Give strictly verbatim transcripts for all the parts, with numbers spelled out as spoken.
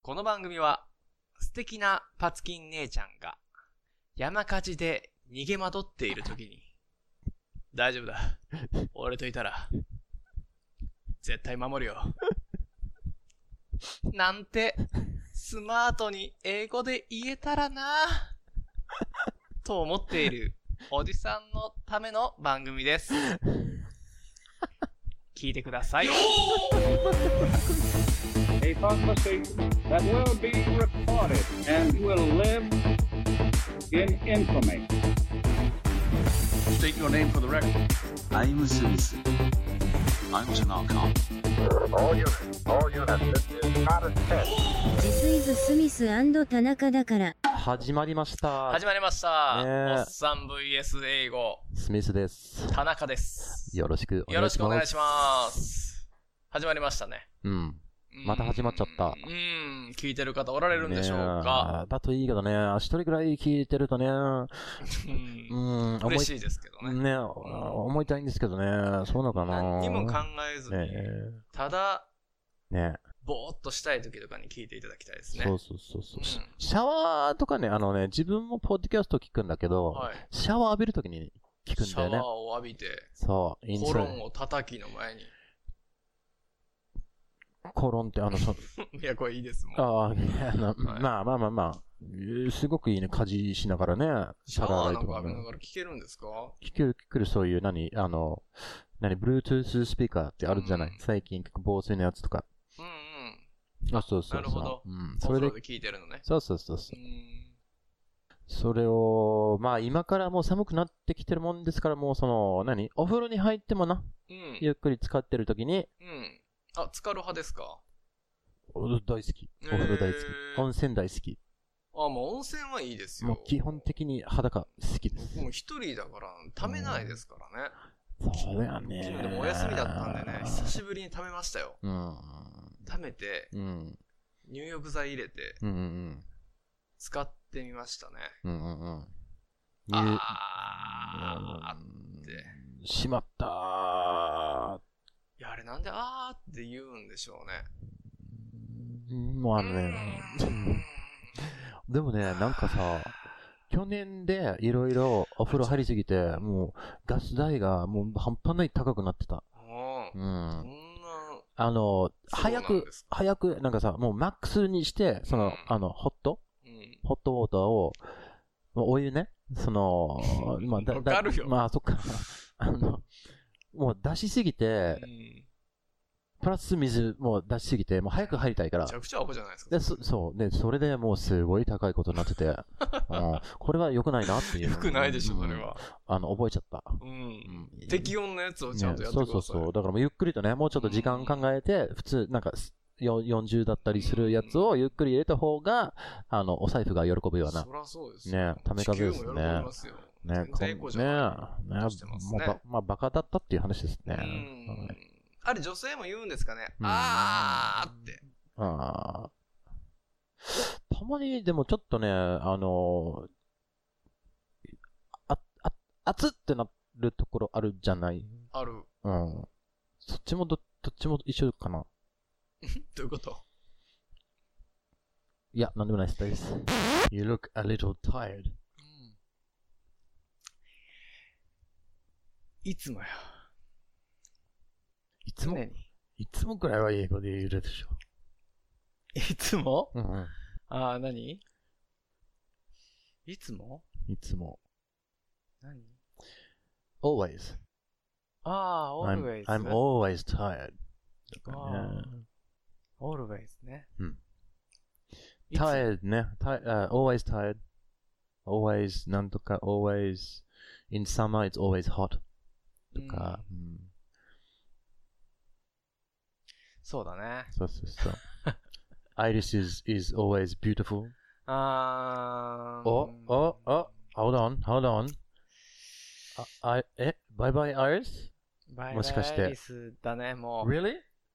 この番組は素敵なパツキン姉ちゃんが山火事で逃げ惑っている時に大丈夫だ、俺といたら絶対守るよなんてスマートに英語で言えたらなと思っているおじさんのための番組です。聞いてください。 A conversation that will be recorded and will live in infamy. State your name for the record. I'm Smith. I'm Tanaka. All units, all units, this is not a test. This is Smith and 田中だから。 始まりました。 始まりました。 ね、 おっさん ブイエス 英語。 スミスです。 田中です。 よろしくお願いします。 よろしくお願いします。始まりましたね。 うん。また始まっちゃった。 うん、聞いてる方おられるんでしょうか。 ね、だといいけどね、一人ぐらい聞いてるとね、うん、 嬉しいですけどね。 ね、思いたいんですけどね、そうなのかな。 何にも考えずに、ね、ただ、 ね、 ぼーっとしたい時とかに聞いていただきたいですね。 そうそうそうそう、うん。シャワーとかね、あのね、自分もポッドキャスト聞くんだけど、はい、シャワー浴びるときに聞くんだよね。 シャワーを浴びて、 そう、 コロンを叩きの前に。 コロンってあの、そいや、これいいですもん。 ああ、まあまあまあまあ、すごくいいね、家事しながらね。 シャワーなんか浴びながら聞けるんですか？ 聞ける、聞ける、そういう、何、あの、何、Bluetooth スピーカーってあるじゃない、うん、最近、防水のやつとか。 うんうん。 あ、そうそうそう。 なるほど。 うん。 それで聞いてるのね。 そうそうそうそう。うんそれを、まあ今からもう寒くなってきてるもんですから、もうその、何お風呂に入ってもな。うん。ゆっくり使ってる時に。 うん。あ、浸かる派ですか？ 大好き。お風呂大好き。えー、温泉大好き。 あ、もう温泉はいいですよ。 もう基本的に裸好きです。 もう一人だから、ためないですからね。 そうだよね。 昨日でもお休みだったんでね、久しぶりにためましたよ。うん。ためて、うん、入浴剤入れて、うんうんうん、使ってみましたね。うんうんうん。あーって。 しまったー。 いや、あれなんであーって言うんでしょうね。 もうあのね、でもね、なんかさ、去年でいろいろお風呂入りすぎて、もうガス代がもう半端ない高くなってた。うん。あの、早く、早く、なんかさ、もうマックスにして、その、あの、ホット、うん、ホットウォーターを、お湯ね、その、まあ、 だ、だ、 まあ、そっか。あの、もう出しすぎて、うんプラス水も出しすぎて、もう早く入りたいから。 めちゃくちゃアホじゃないですか。 で、そ、そう。で、それでもうすごい高いことになってて、うん、これは良くないなっていう。 良くないでしょ、それは。 あの、覚えちゃった。 うん。うん、適温のやつをちゃんとやってください。ね、 そうそうそう。だからもうゆっくりとね、もうちょっと時間考えて、普通、なんか、よんじゅうだったりするやつをゆっくり入れた方が、あの、お財布が喜ぶような。 そりゃそうですね。ため風ですね。ね、 全然エコじゃないね。ね、もうば、まあ、バカだったっていう話ですね。うん。 あれ女性も言うんですかね、うん、あーって。 ああ。たまにでもちょっとね、あのー、あ、あ、熱ってなるところあるじゃない？ ある。 うん。そっちもど、どっちも一緒かな。 どういうこと？ いや、なんでもないです。You look a little tired、うん。 いつもや。 いつも、いつもくらいは英語で言えるでしょ。 いつも？ うんうん。 ああ、何？いつも？ いつも。 何？ always. ああ、always. I'm, I'm always tired. ああ、always ね。 うん。tired ね。Uh, always tired. always なんとか always in summer it's always hot. とか、うんうんそうだね。 そうそうそう。Iris is, is always beautiful. あー。 お、お、お、hold on, hold on. あ、あ、え、bye bye Iris? バイバイアイリスだね、もう。 Really?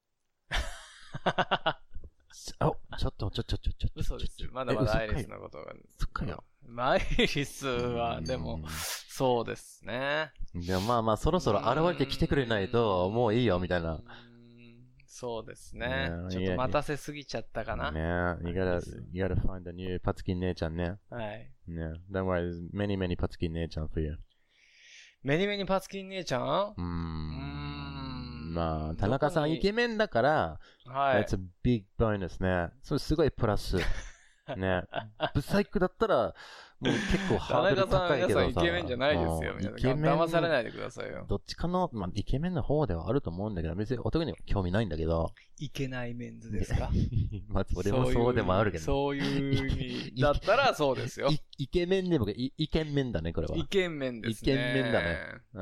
お、ちょっと、ちょ、ちょ、ちょ、ちょ。 嘘ですよ。まだまだアイリスのことが。 そっかよ。 アイリスは、でも、そうですね。 いや、まあまあ、そろそろ現れてきてくれないと、もういいよ、みたいな。 そうですね。 ねちょっと待たせすぎちゃったかな。 ね you gotta, you gotta find a new パツキン姉ちゃんね。 はい。 ね Don't worry, there's many, many パツキン姉ちゃん for you. メニメニパツキン姉ちゃんうーん。まあ、田中さんイケメンだから、 はい。 That's a big bonus ね。それすごいプラス。ね。ブサイクだったら、もう結構ハードル高いけどさ。 田中さん、皆さんイケメンじゃないですよ。 うん皆さんイケメン騙されないでくださいよ。 どっちかの、まあ、イケメンの方ではあると思うんだけど、別に男には興味ないんだけど。 いけないメンズですかまあ、それもそうでもあるけど、 そういう意味だったらそうですよ。 いイケメンでもい、イケメンだね、これは。 イケメンですね。 イケメンだね。うん。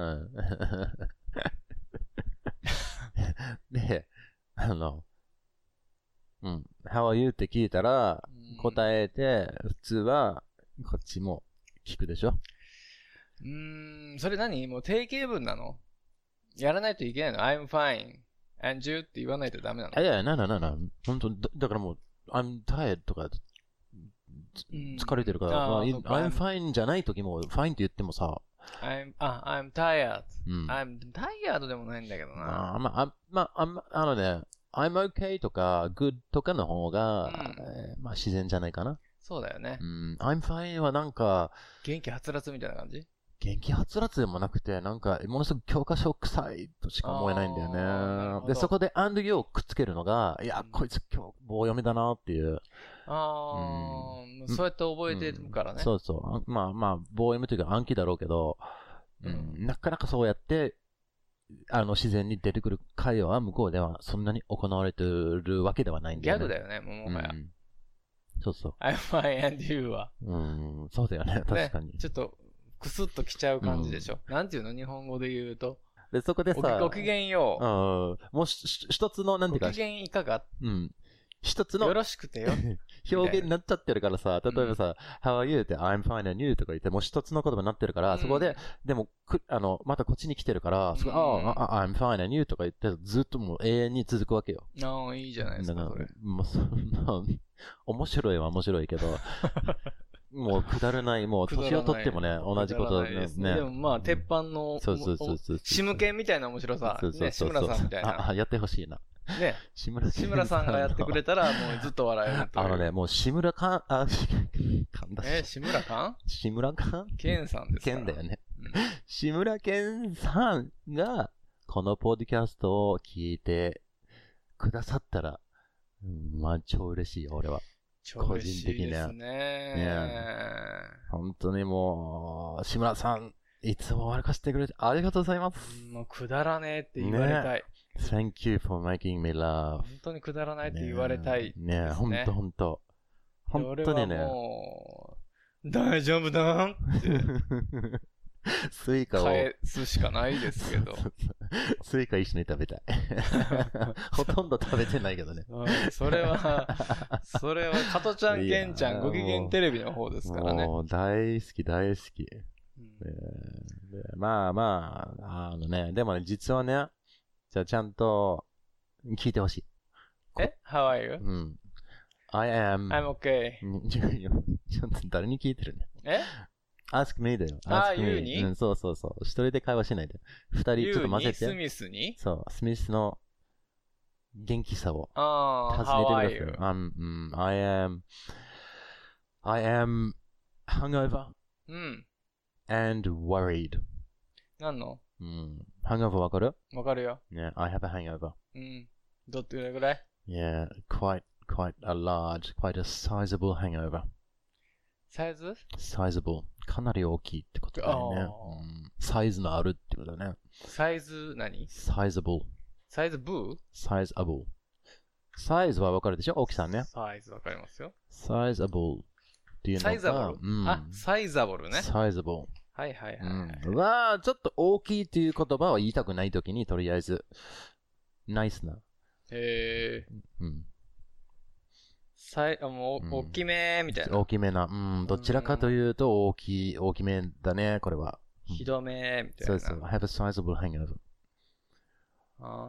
で、あの、うん。How are you? って聞いたら、答えて、普通は、こっちも聞くでしょ。 うーん、それ何もう定型文なの？やらないといけないの？ I'm fine. And you? って言わないとダメなの？ いやいや、なななな。本当だ、だからもう、I'm tired とか、疲れてるから、まあ、I'm fine じゃない時も、fine って言ってもさ、 I'm, あ、I'm tired. うん。 I'm tired でもないんだけどな。 あまあ、まあ、ああのね、I'm okay とか good とかの方が、 うんえーまあ自然じゃないかな。 そうだよね。 うん、I'm fine はなんか、 元気はつらつみたいな感じ？ 元気はつらつでもなくて、なんか、ものすごく教科書臭いとしか思えないんだよあーなるほね。 どで、そこで and you をくっつけるのが、いや、 うんこいつ今日棒読みだなっていう。 ああ、そうやって覚えてるからね。 うんそうそう。あまあまあ、棒読みというか暗記だろうけど、うんうんなかなかそうやって、あの、自然に出てくる会話は向こうではそんなに行われてるわけではないんだよね。 ギャグだよね、もはや。 うんそうそう。 I'm fine and you は。 うん、そうだよね、確かに。 ねちょっと、くすっときちゃう感じでしょ。なんていうの日本語で言うと。 で、そこでごさ、 きごきげんよう。 うん、もうしし一つの、なんていうかごき、げんいかがうん。一つのよろしくてよ。 表現になっちゃってるからさ、例えばさ、How are you? って I'm fine and you とか言って、もう一つの言葉になってるから、 うんそこで、でも、く、あの、またこっちに来てるから、そこ、 うんああ、I'm fine and you とか言って、ずっともう永遠に続くわけよ。 ああ、いいじゃないですか、 だからそれ。 もうそんな、面白いは面白いけど、もうくだらない、もう年を取ってもね、同じことくだらないですね。 でもまあ、鉄板の、 そうそうそうそう。 シムケンみたいな面白さ。 そうそうね、志そうそう村さんみたいな。 あ、あやってほしいな。 ね、 志村志村さんがやってくれたら、もうずっと笑えるという。 あのね、もう志村かん、あ、かんだえ、志村かん志村かんケンさんですから。 ケンだよね。 うん志村けんさんが、このポッドキャストを聞いてくださったら、うんまあ、超嬉しいよ、俺は。 超嬉しいですね。 本当にもう、志村さん、いつも笑かしてくれてありがとうございます。 もうくだらねえって言われたい。 Thank you for making me laugh. 本当にくだらないって言われたいですね。 ねえ、ほんとほんと。本当にね。 俺はもう、大丈夫だんってスイカを。 返すしかないですけど。 スイカ一緒に食べたい。ほとんど食べてないけどね。 うんそれは、それは、加トちゃん、ケンちゃん、ご機嫌テレビの方ですからね。 もう大好き大好き。 うんえーでまあまあ、あのね、でもね、実はね、じゃあちゃんと聞いてほしい。 え ?How are you? うん。I am... I'm okay. ちょっと誰に聞いてるね。 え ask me だよ。 あ ask me you にうん、そうそうそう。一人で会話しないで。二人ちょっと混ぜ You にスて。 ミスにそう、スミスの元気さをああ、 尋 How ね are てく you? ださい。I'm, うん I am, I am hungover うん。 and worried. 何のうん、hangover わかる？ わかるよ。 ね、I have a hangover. うん。どってぐらい Yeah, quite, quite a large, quite a sizable hangover. サイズ sizable. かなり大きいってことだよね。 あーうん、サイズのあるってことだね。 サイズ何 sizable. サイズブー sizable. サイズはわかるでしょ？大きさね。 サイズわかりますよ。 sizable っていうのが。 サイザボル、 うん、 あ、サイザボルね。 sizable。 はいはいはい、 うん。は、ちょっと大きいっていう言葉は言いたくないときに、とりあえず、ナイスな。 へえ。 うん。 さい、あもう、 うん大きめーみたいな。 大きめな。うん。どちらかというと、大きい、大きめだね、これは。うんひどめーみたいな。 そうそう。I have a sizable hangover. あ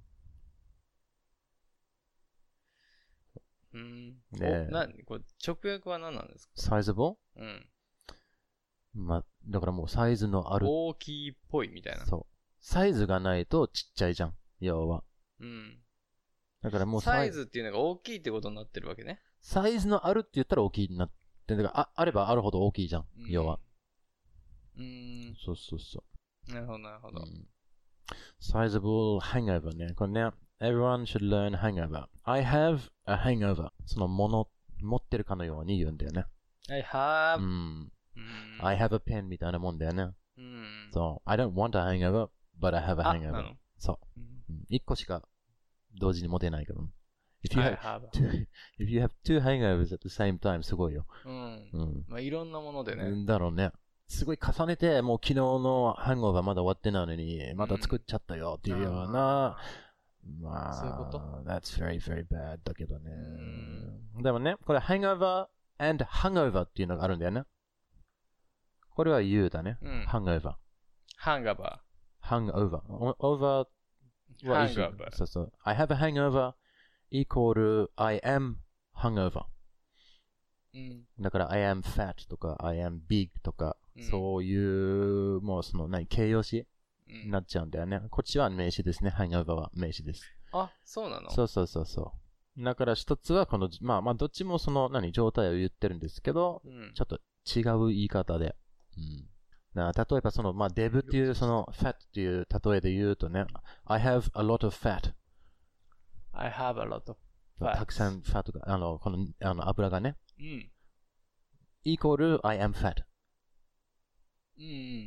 ーうん。 ねえおなこれ直訳は何なんですか sizable? うん。 まあ、だからもうサイズのある。 大きいっぽいみたいな。 そう。サイズがないとちっちゃいじゃん。要は。 うん。 だからもうサイズっていうのが大きいってことになってるわけね。 サイズのあるって言ったら大きいになってだからあ、あればあるほど大きいじゃん、 うん、 要は。 うーん。 そうそうそう。 なるほど、なるほど。 うん、sizable hangover ね。これね、everyone should learn hangover.I have a hangover. そのもの、持ってるかのように言うんだよね。 I have. うん。 うん、 I have a pen みたいなもんだよね。 うん。 そう。I don't want a hangover, but I have a hangover. そう。うん。一個しか同時に持てないけど。If you have, have two, if you have two hangovers at the same time, すごいよ。 うん。 うん。 まあ、いろんなものでね。 だろうね。すごい重ねて、もう昨日のハンゴーバーまだ終わってないのに、また作っちゃったよっていうような、うん、まあ、 そういうこと That's very, very bad だけどね。でもね、これ hangover and hangover っていうのがあるんだよね。これは you だね。うん、hangover。 hangover。 hangover。over は一緒。 hangover。 そうそう。I have a hangover equal I am hangover。うん、だから I am fat とか I am big とか、うん、そういうもうその何形容詞になっちゃうんだよね。こっちは名詞ですね。hangover は名詞です。 あ、そうなの？そうそうそうそう。だから一つはこのまあまあどっちもその何状態を言ってるんですけど、うん、ちょっと違う言い方で。うん、な例えばそのまあデブっていうその fat っていう例えで言うとね、I have a lot of fat。I have a lot of fat。 たくさん fat があのこのあの油がね。 うん。 イコール I am fat。 うん。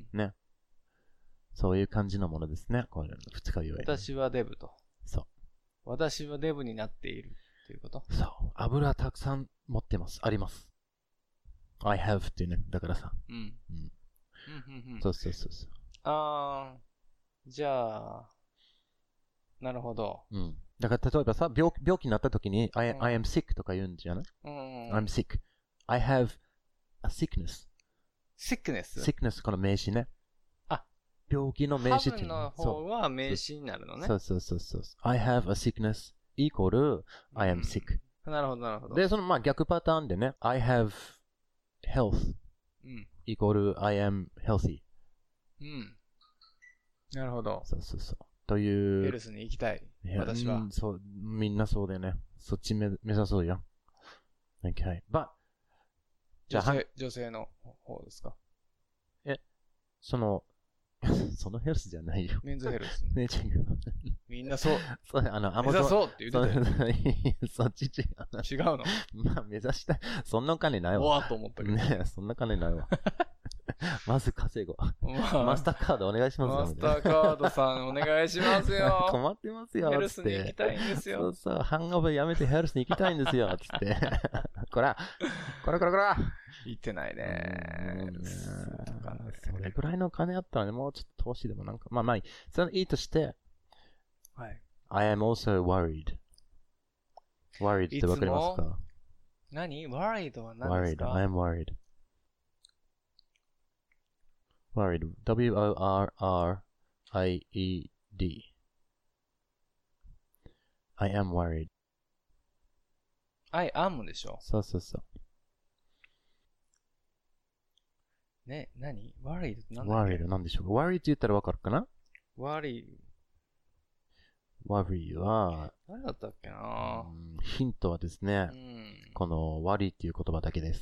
ね。そういう感じのものですね。これ、二日言え。 私はデブと。 そう。 私はデブになっているということ。 そう。油たくさん持ってます。あります。I have っていうね。だからさ。うん。うん。うんうん、そうそうそうそう。 あー。じゃあ、なるほど。 うん。だから例えばさ、病, 病気になった時に、I, うん、I am sick とか言うんじゃない？うん。I'm sick.I have a sickness. sickness? sickness この名詞ね。 あ、 病気の名詞っていうの。ハブの方は名詞になるのね。 そうそうそうそう。I have a sickness equal I am sick、 うん。なるほどなるほど。 で、そのまあ逆パターンでね、I have health、うん、equal I am healthy。 うん。なるほど。 そうそうそう。という。 ヘルスに行きたい。私は、うん。 そう、みんなそうだよね。そっち目目指そうよ。Okay. But 女性、女性の方ですか？ え、その、そのヘルスじゃないよ。 メンズヘルス。 ね、違う。 みんなそう。 そう、あの、 目指そうって言ってたよ。 そっち違う。違うの？ まあ、目指したい。そんなお金ないわ。 おわと思ったけど。 ねそんな金ないわ。まず稼ごう。まあ、マスターカードお願いしますよ。 マスターカードさんお願いしますよ。 困ってますよ。 ヘルスに行きたいんですよ。 そうそう、ハンオーバーやめてヘルスに行きたいんですよ。つって。こら、こらこらこら。 行ってないね。 それぐらいの金あったらね、もうちょっと投資でもなんか、まあまあいい。それいいとして、 はい。 I am also worried. worried ってわかりますか？ 何？ worried は何ですか？ worried, I am worried.Worried. W O R R I E D. I am worried. I am でしょ。 そうそうそう。 ね、何 ?worried って何だっけ？ worried なんでしょうか？ worried って言ったらわかるかな？ worry。 worry は、 何だったっけな、 うん、ヒントはですね、うん、この worry っていう言葉だけです。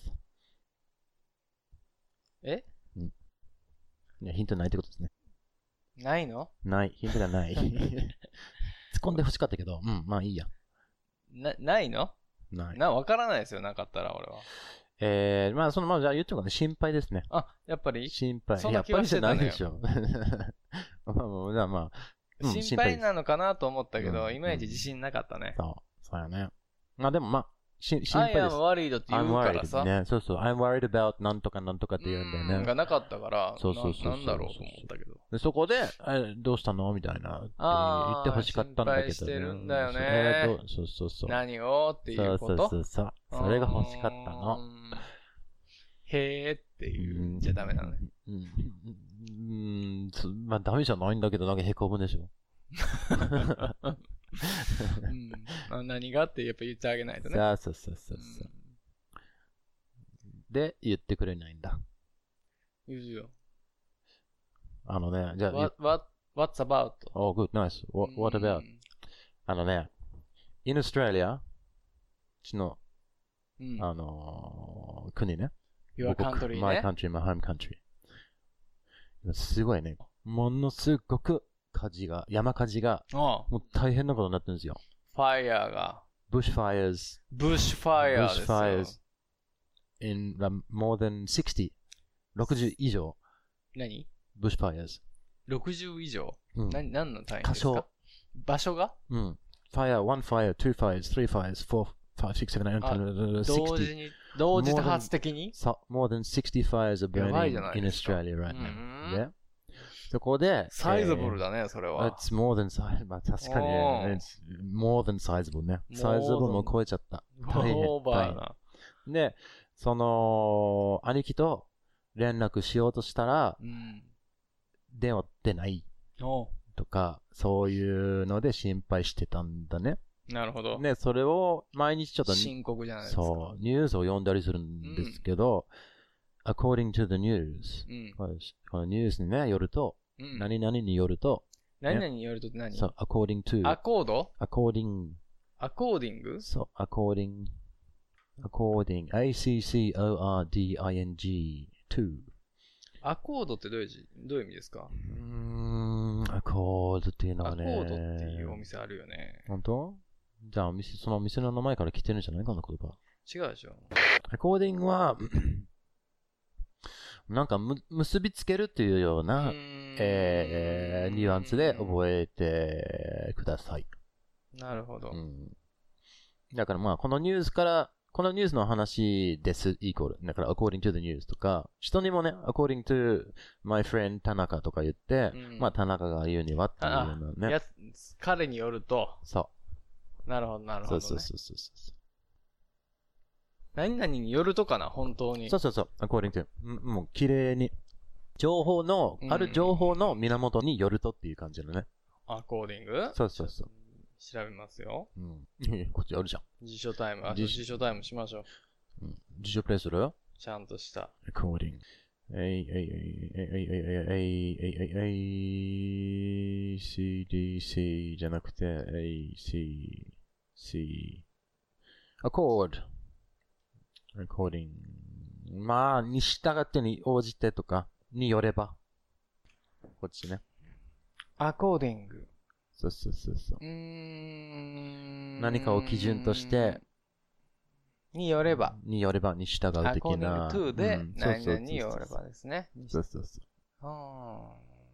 え？ うん。いや、ヒントないってことですね。 ないの？ ない。ヒントがない。突っ込んで欲しかったけど、うん、まあいいや。 な、ないの？ ない。 な、わからないですよ、なかったら俺は。 えー、まあその、まあじゃあ言っちゃうかね、心配ですね。 あ、やっぱり？ 心配。 そんな気はしてたのよ。 やっぱりじゃないでしょ。まあじゃあまあ、 うん、心配なのかなと思ったけど、うん、いまいち自信なかったね。 そう、そうやね。まあでもまあ、し心配です。 I am worried って言うからさ。 ね、そうそう。I'm worried about なんとかなんとかって言うんだよね。 がなかったから、 そうそうそうそう。 なんだろうと思ったけど。 でそこで、え、どうしたのみたいな。言ってほしかったんだけど、ね。 心配してるんだよね。 えー、そうそうそう。 何をっていうこと？ そうそうそう。それが欲しかったの。 へーって言うんじゃダメなのね。 うん。うん。うん、まあダメじゃないんだけど、なんか凹むでしょ。 うんまあ、何がってやっぱ言ってあげないとね。 そうそうそうそう、うん。で、言ってくれないんだ。 言うよ。 あのね、じゃあ。 What, what, what's about? Oh, good, nice. What, what about? あのね、 in Australia、ちの、 うん。 あのー、国ね。 Your country ね。 My country, my home country。すごいね。ものすごく火事が、山火事が、 うん。 もう大変なことになってるんですよ。 ファイヤーが。 bushfires, ブッシュファイヤーですよ。 bushfires in um, more than sixty、ろくじゅう以上、 何 bushfires。 ろくじゅう以上、 うん、 何、何の単位箇ですか？ 所。 場所が？ うん。fire, one fire, two fires, three fires, four, five, six, seven, eight, あ nine, 同時 sixty。 に、同時多発的に So, more than sixty fires are やばい burning じゃない in ですか。 Australia right う now. ん Yeah. そこで、 サイズボルだね、それは。 It's more than size. まあ確かにおーね、It's more than sizable ね。 More than サイズボルも超えちゃった。大変オーバーな。 で、その、兄貴と連絡しようとしたら、 うん。 電話出ないおとか、そういうので心配してたんだね。 なるほど。 ね、それを毎日ちょっと、 深刻じゃないですか。 そう、ニュースを読んだりするんですけど、according to the news、 うん。 このニュースにね、よると、 うん。 何々によると、 何々によるとって何？ そう、according to、 アコード？ according、 アコーディング？ そう、according、according、a-c-c-o-r-d-i-n-g、to。 アコードってどういう字、どういう意味ですか？ うーん、アコードっていうのはね。 アコードっていうお店あるよね。 本当？じゃあお店、そのお店の名前から来てるんじゃないかな、言葉。 違うでしょ。 アコーディングは、なんかむ結びつけるっていうような、えー、ニュアンスで覚えてください。 なるほど。 うん、だからまあ、このニュースから、このニュースの話です、イコール。だから、according to the news とか、人にもね、according to my friend 田中とか言って、うん、まあ、田中が言うにはっていうようなね。 や彼によると。 そう。 なるほど、なるほど、ね。 そうそうそうそうそう。 何々によるとかな、本当に。 そうそうそう、according to。もう、綺麗に。情報の、ある情報の源によるとっていう感じのね。 アコーディング？ そうそうそう。 調べますよ。 うん。こっちあるじゃん。 辞書タイム。あ、辞書タイムしましょう。 うん。辞書プレイする？ ちゃんとした。 according。えいえいえいえいえいえいえいえい シーディーシー じゃなくて エーシーシー。accord。according。まあ、に従ってに応じてとか、によれば。こっちね。 アコーディング。 そうそうそうそう。 うーん。 何かを基準として、 によれば。 によればに従う的な。 アコーディングトゥーで、うん、何々によればですね。 そうそうそう。 は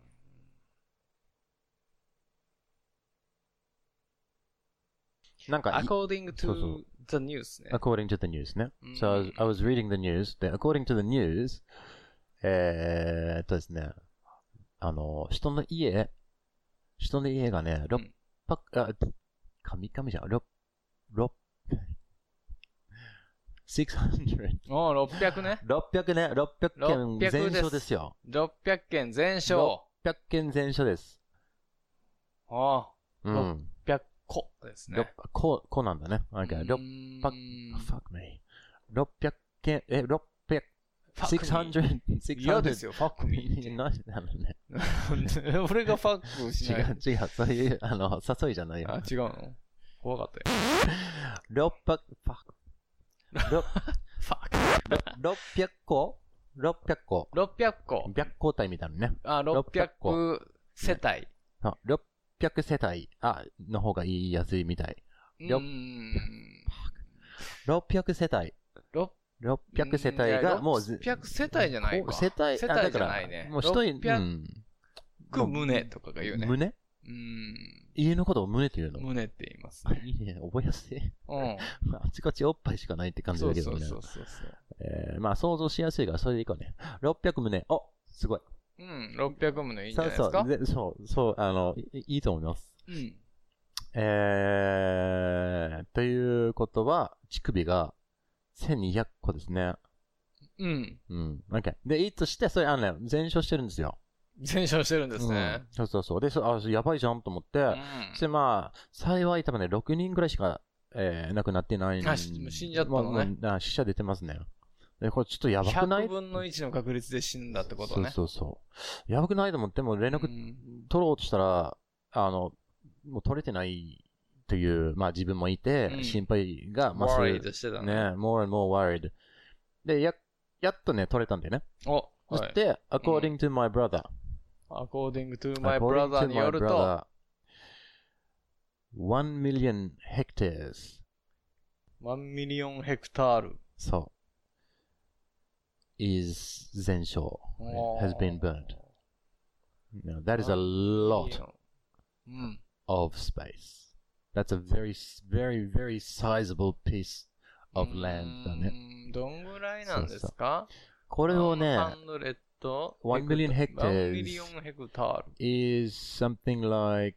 あ。なんか、 according to the news ね。 according to the news ね。So I was, I was reading the news. で、according to the news、えーっとですね、あの、人の家、人の家がね、ろっぴゃく、あ、神々じゃん、ろっ、ろっ、ろっぴゃく。 おろっぴゃくね。 ろっぴゃくね、ろっぴゃくけん全焼ですよ。 ろっぴゃくけん全焼。 ろっぴゃくけん全焼です。 ああ。 うん。 ろっぴゃくこですね。 こ、こなんだね。なんか、ろっぴゃく、fuck me。ろっぴゃくけん、え、ろっぴゃく、ろっぴゃく、 嫌ですよ、ファックミー。 何なのね。 俺がファックしない。 違う、違う、そういう、あの、誘いじゃないよ。 あ、違うの怖かったよ。 ろっぴゃく、ファック。ろっぴゃくこ ?ろっぴゃくこ。 ろっぴゃくこ。 白光体みたいなね。 あ、ろっぴゃく世帯。 あ、ろっぴゃく世帯、あ、の方が言いやすいみたい。ろっぴゃく世帯。ろっぴゃく世帯がもう、 ろっぴゃく世帯じゃないか。 世帯、 世帯じゃないね。 もう一人、 ろっぴゃく棟とかが言うね。 棟？ うん。 家のことを棟って言うの？ 棟って言いますね。 いいね、覚えやすい。 うん。 あちこちおっぱいしかないって感じだけどね。 そうそうそうそう。 えー、まあ想像しやすいからそれでいこうね。ろっぴゃく棟。お、すごい。 うん、ろっぴゃく棟いいんじゃないですか？ そうそう、そう、そう、あの、い, いいと思います。 うん。 えー、ということは、乳首がせんにひゃくこですね。 うん。 うん。OK。で、いいとして、それ、あのね、全焼してるんですよ。 全焼してるんですね。 うん、そうそうそう。で、そあ、やばいじゃんと思って、うん、そしてまあ、幸い多分ね、ろくにんぐらいしか、えー、亡くなってないんで。 あ、死んじゃったのね。 まあ、死者出てますね。で、これちょっとやばくない？ ひゃくぶんのいちの確率で死んだってことね。 そうそうそう。やばくないと思っても連絡取ろうとしたら、あの、もう取れてないという、まあ自分もいて、 うん心配が増す。 worried してたね。 ね、more and more worried。で、や、やっとね、取れたんだよね。 お、はい。 そして、according to my brother。 according to my according brother to に my よると、 brother, one million hectares。 ワンミリオンヘクタール。 そう。is 全焼。has been burnt. No, that is a lot うん。 of space. That's a very, very, very sizable piece of land だね。 うーんどんぐらいなんですか？ これをね、 ハンドレット one million hectares ワンミリオンヘクタール。 is something like,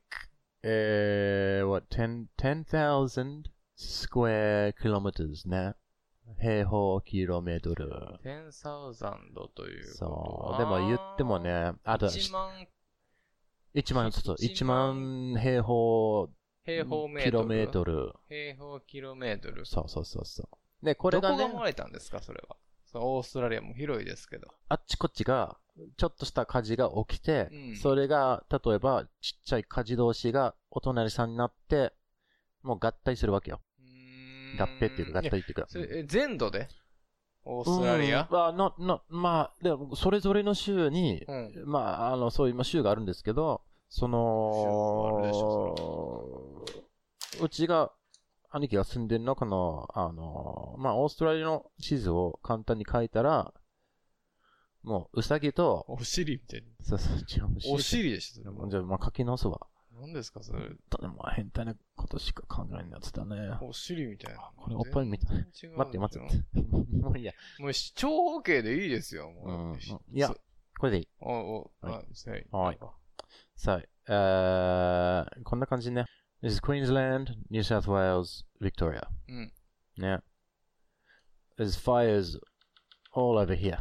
uh, what, ten, ten thousand square kilometers ね。平方キロメートル。 テンサウザンドということそう。 は。 でも言ってもね、あと、 いちまんいちまん、そうそう、 いちいちまん平方平方メートル。 キロメートル。 平方キロメートル。 そうそうそうそう。で、これがね、 どこが漏れたんですか、それは。そうオーストラリアも広いですけど。 あっちこっちが、ちょっとした火事が起きて、 うんそれが、例えば、ちっちゃい火事同士がお隣さんになって、もう合体するわけよ。 うーん合併っていうか、合体っていうか。 それえ全土でオーストラリアうん、まあ、の、の、まあ、でも、それぞれの州に、 うんまあ、あの、そういう、まあ、州があるんですけど、そ州あるでしの、うちが、兄貴が住んでるのこの、あの、まあ、オーストラリアの地図を簡単に書いたら、もう、ウサギと、 お尻みたいに。 そうそう、違う、 お尻でしょ、それも。 じゃあ、まあ、書き直すわ。 何ですか、それ。 とても変態なことしか考えないやつだね。 お尻みたいな。 これおっぱいみたい。 全然違う待って待って待って。もういいや。 もう長方形でいいですよ、 うもう。 ん。いや、これでいい。 お、お、 はいあ、せい。 はいさあ、えー、こんな感じね。This is Queensland, New South Wales, Victoria. うん。 ね。There's fires all over here.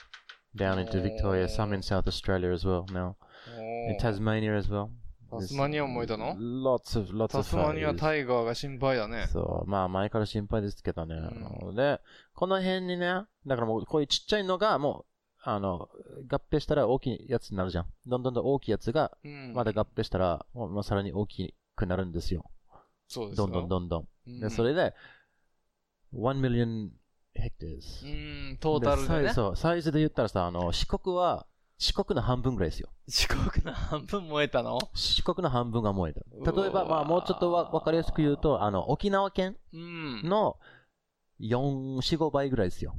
Down into Victoria, some in South Australia as well now. お In ー Tasmania as well. タスマニアも燃えたの Lots of, lots タ of スマニア fires. タイガーが心配だね。 そう。まあ、前から心配ですけどね。 うで、この辺にね、だからもう、こういうちっちゃいのが、もう、あの、合併したら大きいやつになるじゃん。どんどんどん大きいやつが、 うん。 まだ合併したら、もうまあさらに大きくなるんですよ。 そうですよどんどんどんどん。 うんで、それで、one million hectares。 うん、トータルでねサイズ。そう、サイズで言ったらさ、あの、四国は、四国の半分ぐらいですよ。 四国の半分燃えたの四国の半分が燃えた。 うわー例えば、まあ、もうちょっとわわかりやすく言うと、あの、沖縄県うん。 のよん、よん、ごばいぐらいですよ。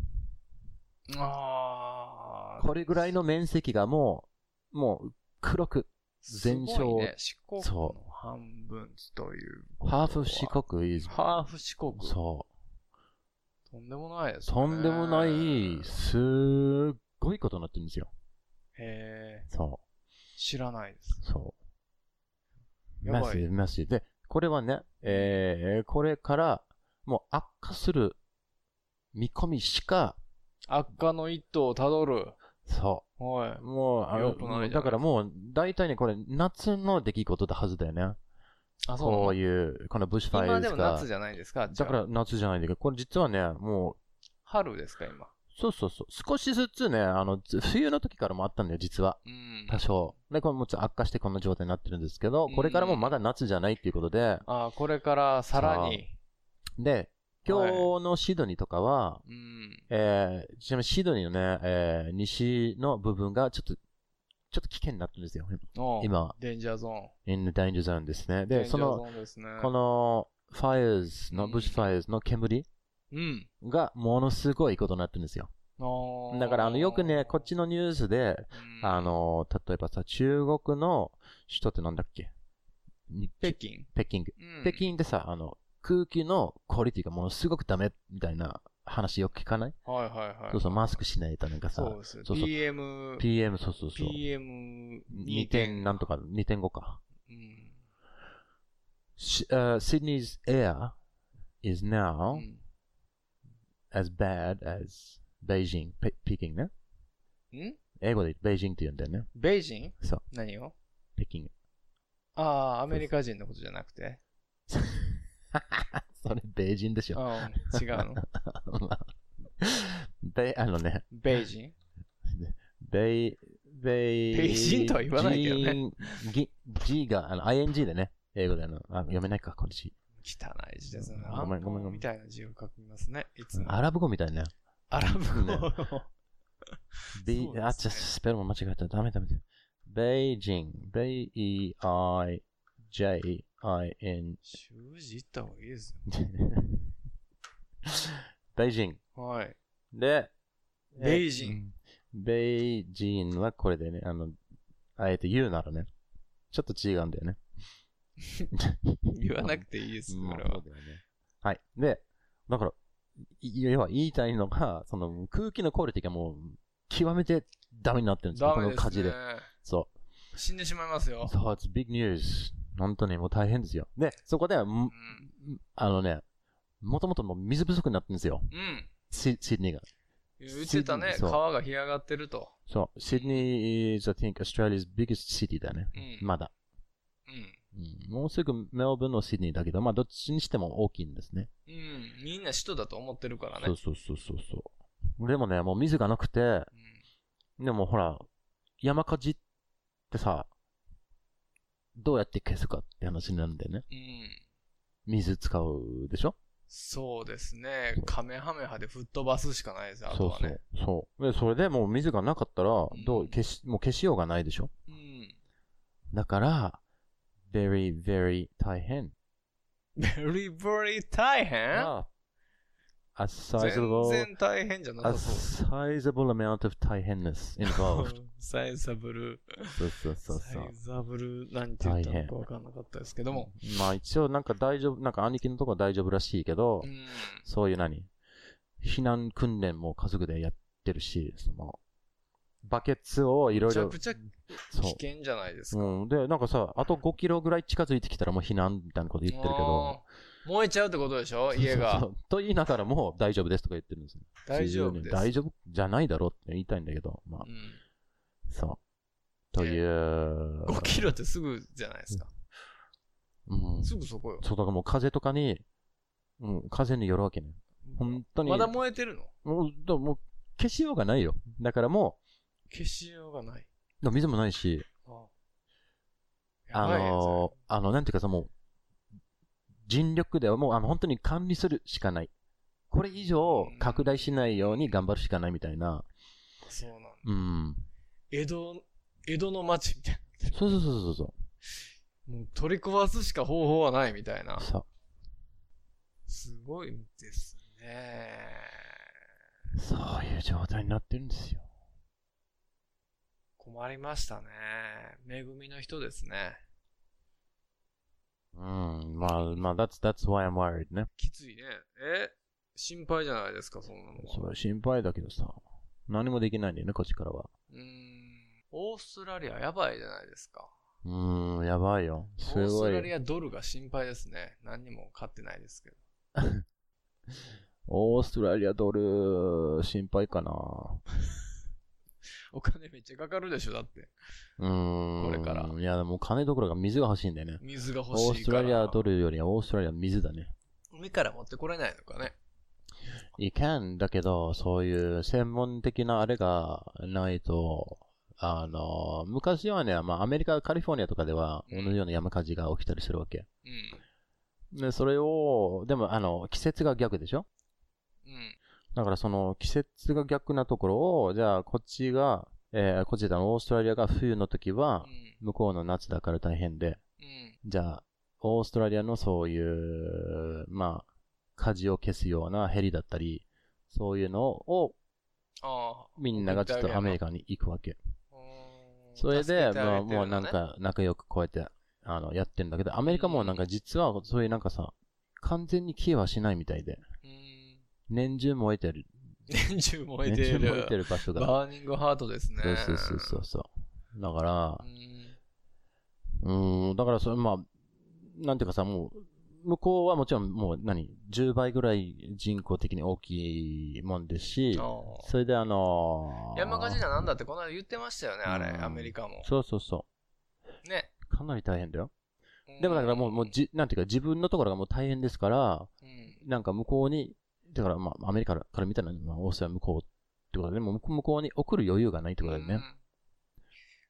あー。 これぐらいの面積がもう、もう、黒く、全焼すごいね、四国その半分ということは。 ハーフ四国 is、 ハーフ四国。 そう。 とんでもないですね。 とんでもない、すっごいことになってるんですよ。 へえ、 そ知らないです。 う。そう。 やばいマシマシで、これはね、えー、これから、もう悪化する見込みしか、 悪化の一途をたどる。 そはう。もう、あのよくないじゃないだからもう、大体ね、これ、夏の出来事だはずだよね。 い。あ、そうこなのういう、このブッシュファイ今アが。 でも夏じゃないですか。 だから夏じゃないんだけど、これ実はね、もう、 春ですか、今。 そうそうそう。少しずつね、あの、ず冬の時からもあったんだよ、実は。 うん。 多少。で、これもちろん悪化してこんな状態になってるんですけど、これからもまだ夏じゃないっていうことで、 あ、これからさらに。 で、今日のシドニーとかは、 うん。 えー、ちなみにシドニーのね、えー、西の部分がちょっと、ちょっと危険になってるんですよ、 おう今は。 デンジャーゾーン。 in the danger zone ですね。で、 デンジャーゾその、 ーンですね。 この、fires の、 うんブッシュファイアの煙うん。 がものすごいことになってるんですよ。 あだから、あの、よくね、こっちのニュースで、 うんあ、の、例えばさ、中国の首都ってなんだっけに北京。 北京。 うん北京でさ、あの、空気のクオリティがものすごくダメみたいな話よく聞かない？ はいはいはい。 そうそう、マスクしないとなんかさ、 そうです。 そうそうピーエム、 ピーエム、そうそうそう。 ピーエムにてんなんとか、にてんごか。 うん。 し uh, Sydney's air is う now ん as bad as Beijing, Pe- Peking ね。 ん英語でベイジンって言うんだよね。 ベイジンそう、 何を北京。 ああ、アメリカ人のことじゃなくて。 それ、ベイジンでしょ。 ああ、違うの。 ベイ、あのね、 ベイジンベイ、ベイ、 ベイジンとは言わないけどねジン。G, G が、あの、アイエヌジー でね。 英語だよな。あ、読めないか、これ字。 汚い字ですね。 ごめんごめんごめんみたいな字を書きますね。いつも。 アラブ語みたいね。 アラブ語ねの。 B、 そうですねあ、ちょっとスペルも間違えた。ダメダメ。ベイジン。ベイ E I J I N。 習字行った方がいいですベイジン。 よ。はい。 で、 ベイジン。 ン。ベイジンはこれでね、あの、あえて言うならね。ちょっと違うんだよね。 言わなくていいです、 まあこれは。 そうだよね。はい。で、だから、い要は言いたいのが、その空気のクオリティがもう、極めてダメになってるんですよ。 ダメですねこの火事で。。そ死んでしまいますよう。。そう、it's big news. 本当にもう大変ですよ。で、そこで、 うんん。 あのね、もともともう水不足になってるんですよ。 うん。 シシドニーが。 言ってたね。 そう川が干上がってると。 そう。シドニー is, I think, Australia's biggest city だね。 うん。 まだ。 うん。 うん、もうすぐメルボルンのシドニーだけど、まあどっちにしても大きいんですね。 うん。みんな首都だと思ってるからね。 そうそうそうそうそう。でもね、もう水がなくて、でもほら、山火事ってさ、どうやって消すかって話になるんだよね。 うん。うん。 水使うでしょ。 そうですね。カメハメハで吹っ飛ばすしかないですよ、あそうそうとはね。。 そう。で、それでもう水がなかったら、どう、消し、もう消しようがないでしょ。 うん。 だから、very, very 大変。 very, very 大変ああ A 全 sizable, 然大変じゃな a さそう。 sizable amount of 大変 ness involved. サイザブル。 そうそうそうそうサイ。ザブル、なんて言ったのかわかんなかったですけども。 まあ一応なんか大丈夫、なんか兄貴のとこは大丈夫らしいけど、 うん。 そういう何避難訓練も家族でやってるし、その、バケツをいろいろ。 めちゃくちゃ危そう。 険じゃないですか。 うん。で、なんかさ、あとごキロぐらい近づいてきたらもう避難みたいなこと言ってるけど。 あー燃えちゃうってことでしょ家が。 そうそうそうと言いながらも大丈夫ですとか言ってるんですよ。 大丈夫です。 大丈夫じゃないだろうって言いたいんだけど、まあう、ん。 そう。という。 ごキロってすぐじゃないですか。 うん。 すぐそこよ。 そう、だからもう風とかに、うん、風によるわけね。本当に。 まだ燃えてるのもう、だもう消しようがないよ。だからも消しようがない。 う、水もないし、 ああのー、あの、なんていうかさ、もう、尽力ではもう、あの、本当に管理するしかない。これ以上拡大しないように頑張るしかないみたいな。 そうなんだ。 うん。 江戸、江戸の町みたいそうそうそうそうそな。もう取り壊すしか方法はないみたいなう。。そう。 すごいですね。 そういう状態になってるんですよ。 困りましたね。恵みの人ですね。 うん。まあ、まあ、that's, that's why I'm worried ね。 きついね。え心配じゃないですか、そんなのは。 それ心配だけどさ。何もできないんだよね、こっちからは。 うーん。オーストラリアやばいじゃないですか。 うーん、やばいよ。すオースごい。 トラリアドルが心配ですね。何にも買ってないですけど。 オーストラリアドル、心配かな。 お金めっちゃかかるでしょ、だって。 うーん。 これからいや、もう金どころか水が欲しいんだよね。 水が欲しいから。 オーストラリアドルよりはオーストラリア水だね。 海から持ってこれないのかね。 いけんだけど、そういう専門的なあれがないと、あの、昔はね、まあアメリカ、カリフォルニアとかでは同じような山火事が起きたりするわけ。 うん。 で、それを、でもあの、季節が逆でしょ？ うん。 だからその季節が逆なところを、じゃあこっちが、えー、こっちだオーストラリアが冬の時は、向こうの夏だから大変で、 うん。 じゃあ、オーストラリアのそういう、まあ、火事を消すようなヘリだったり、そういうのを、 ああ。 みんながちょっとアメリカに行くわけ。 うーんそれで、 助けてあまあ、 げてるのねもうなんか、仲良くこうやって、あの、やってるんだけど、アメリカもなんか実は、そういうなんかさ、完全に消えはしないみたいで、 うーん。 年中燃えてる。 年中燃えてる。 年中燃えてる場所が。 バーニングハートですね。 そうそうそうそうそう。だからう、ん。 うーん、だからそれ、まあ、なんていうかさ、もう、向こうはもちろんもう何、じゅうばいぐらい人口的に大きいもんですし、 ああそれであのー、 山火事だなんだってこの間言ってましたよね、あれ、 うんアメリカも。 そうそうそね。 う。かなり大変だよ。でもだからもう、もうじ、なんていうか自分のところがもう大変ですから、 うん。 なんか向こうに、だからまあアメリカから見たら、まあ、オーストラリア向こうってことで、もう向こうに送る余裕がないってことだよね。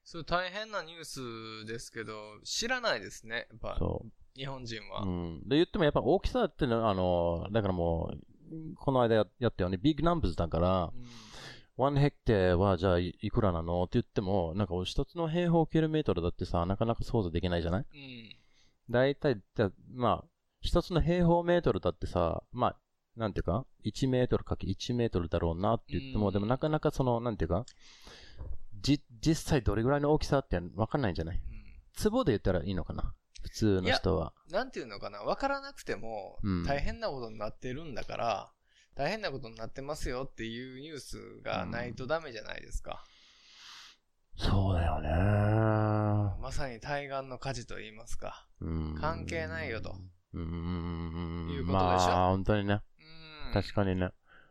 それ大変なニュースですけど、知らないですね。やっぱ、 そう。 日本人は。 うん。で、言ってもやっぱ大きさってのは、あの、だからもう、この間ややったようにビッグナンバーズだから、 うんワンヘクテはじゃあいくらなのって言っても、なんか一つの平方キロメートルだってさ、なかなか想像できないじゃない？ うん。 だいたい、じゃまあ、一つの平方メートルだってさ、まあ、なんていうか、いちメートルかけいちメートルだろうなって言っても、 うんでもなかなかその、なんていうか、じ、実際どれぐらいの大きさってわかんないんじゃない？ うん坪で言ったらいいのかな普通の人は。 なんていうのかな、わからなくてもうん大変なことになってるんだから、大変なことになってますよっていうニュースがないとダメじゃないですか。 そうだよね。 まさに対岸の火事と言いますか。 うん関係ないよと。 うーん。 いうことでしょまあ、本当にね。 うん。 確かにね。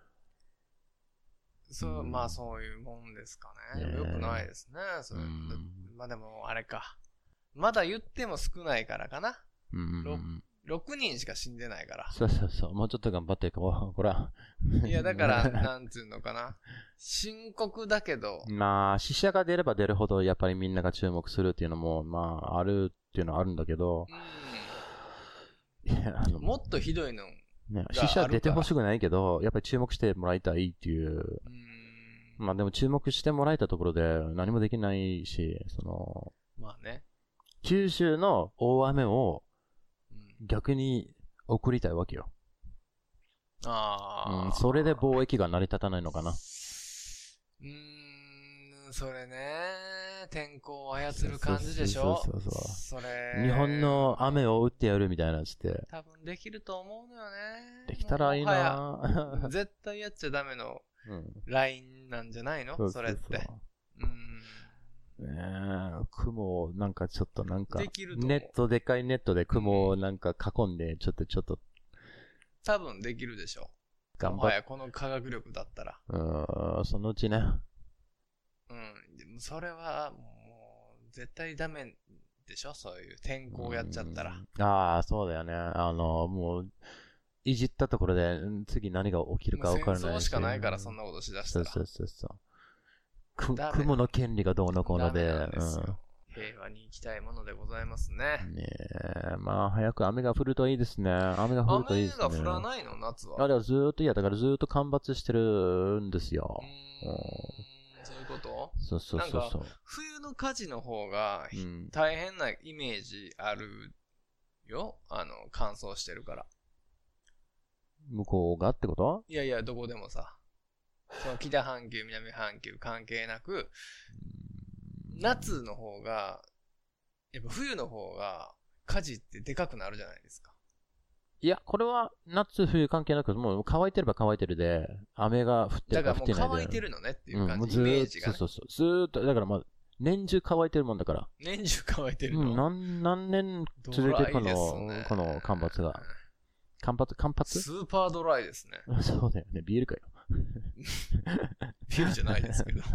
そう、 うんまあそういうもんですかね。 ねえよくないですね。それうんまあでも、あれか。まだ言っても少ないからかな。 うんろろくにんしか死んでないから。 そうそうそう。もうちょっと頑張っていこう。こら。 いや、だから、なんつうのかな。深刻だけど、 まあ、死者が出れば出るほど、やっぱりみんなが注目するっていうのも、まあ、あるっていうのはあるんだけど、いやあのもっとひどいの。 ね、死者出てほしくないけど、やっぱり注目してもらいたいっていう。 うん。 まあでも注目してもらえたところで何もできないし、その、 まあね。 九州の大雨をうん、 逆に送りたいわけよ。 ああ、 うん、それで貿易が成り立たないのかな。 うーん、それね。天候を操る感じでしょ。 そうそうそうそうそれ。 日本の雨を打ってやるみたいなやつって。 多分できると思うのよね。 できたらいいもはやな絶対やっちゃダメのうん。 ラインなんじゃないのそうそれって。うん。 ねえ、雲をなんかちょっとなんかできると思うネット、でかいネットで雲をなんか囲んで、ちょっとちょっと多分できるでしょ。 頑張っもはやこの科学力だったら。 うーん、そのうちね。 うん。でもそれはもう絶対ダメでしょそういう天候やっちゃったら。 うんああ、そうだよね。あの、もう、いじったところで、うん次何が起きるかもう分からないし。 戦争しかないからそんなことしだしたら。 そうそうそうそう。くダメ雲の権利がどうのこうので。 ダメなんですよ平和に生きたいものでございますね。 うん、ねえ、まあ、早く雨が降るといいですね。雨が降るといい雨ですね。 が降らないの夏は。 あれはずーっと、いや、だからずーっと干ばつしてるんですよ。 うーんそういうことそうそうそうなんかそう。 冬の火事の方がうん大変なイメージあるよ。あの、乾燥してるから。 向こうがってこと？ いやいや、どこでもさ。その北半球、南半球関係なく、夏の方が、やっぱ冬の方が火事ってでかくなるじゃないですか。 いや、これは夏冬関係なく、もう乾いてれば乾いてるで、雨が降ってだるからもうか降ってないで。 乾いてるのねっていううん、 感じ、 もうずーっと、 イメージが、ね。 そうそうそう。ずーっと、だからまあ、年中乾いてるもんだから。 年中乾いてるの。 うん、何、何年続いてるこドライですの、 ねこの干ばつが。干ばつ、干ばつスーパードライですね。 そうだよね、ビールかよ。 ビールじゃないですけど。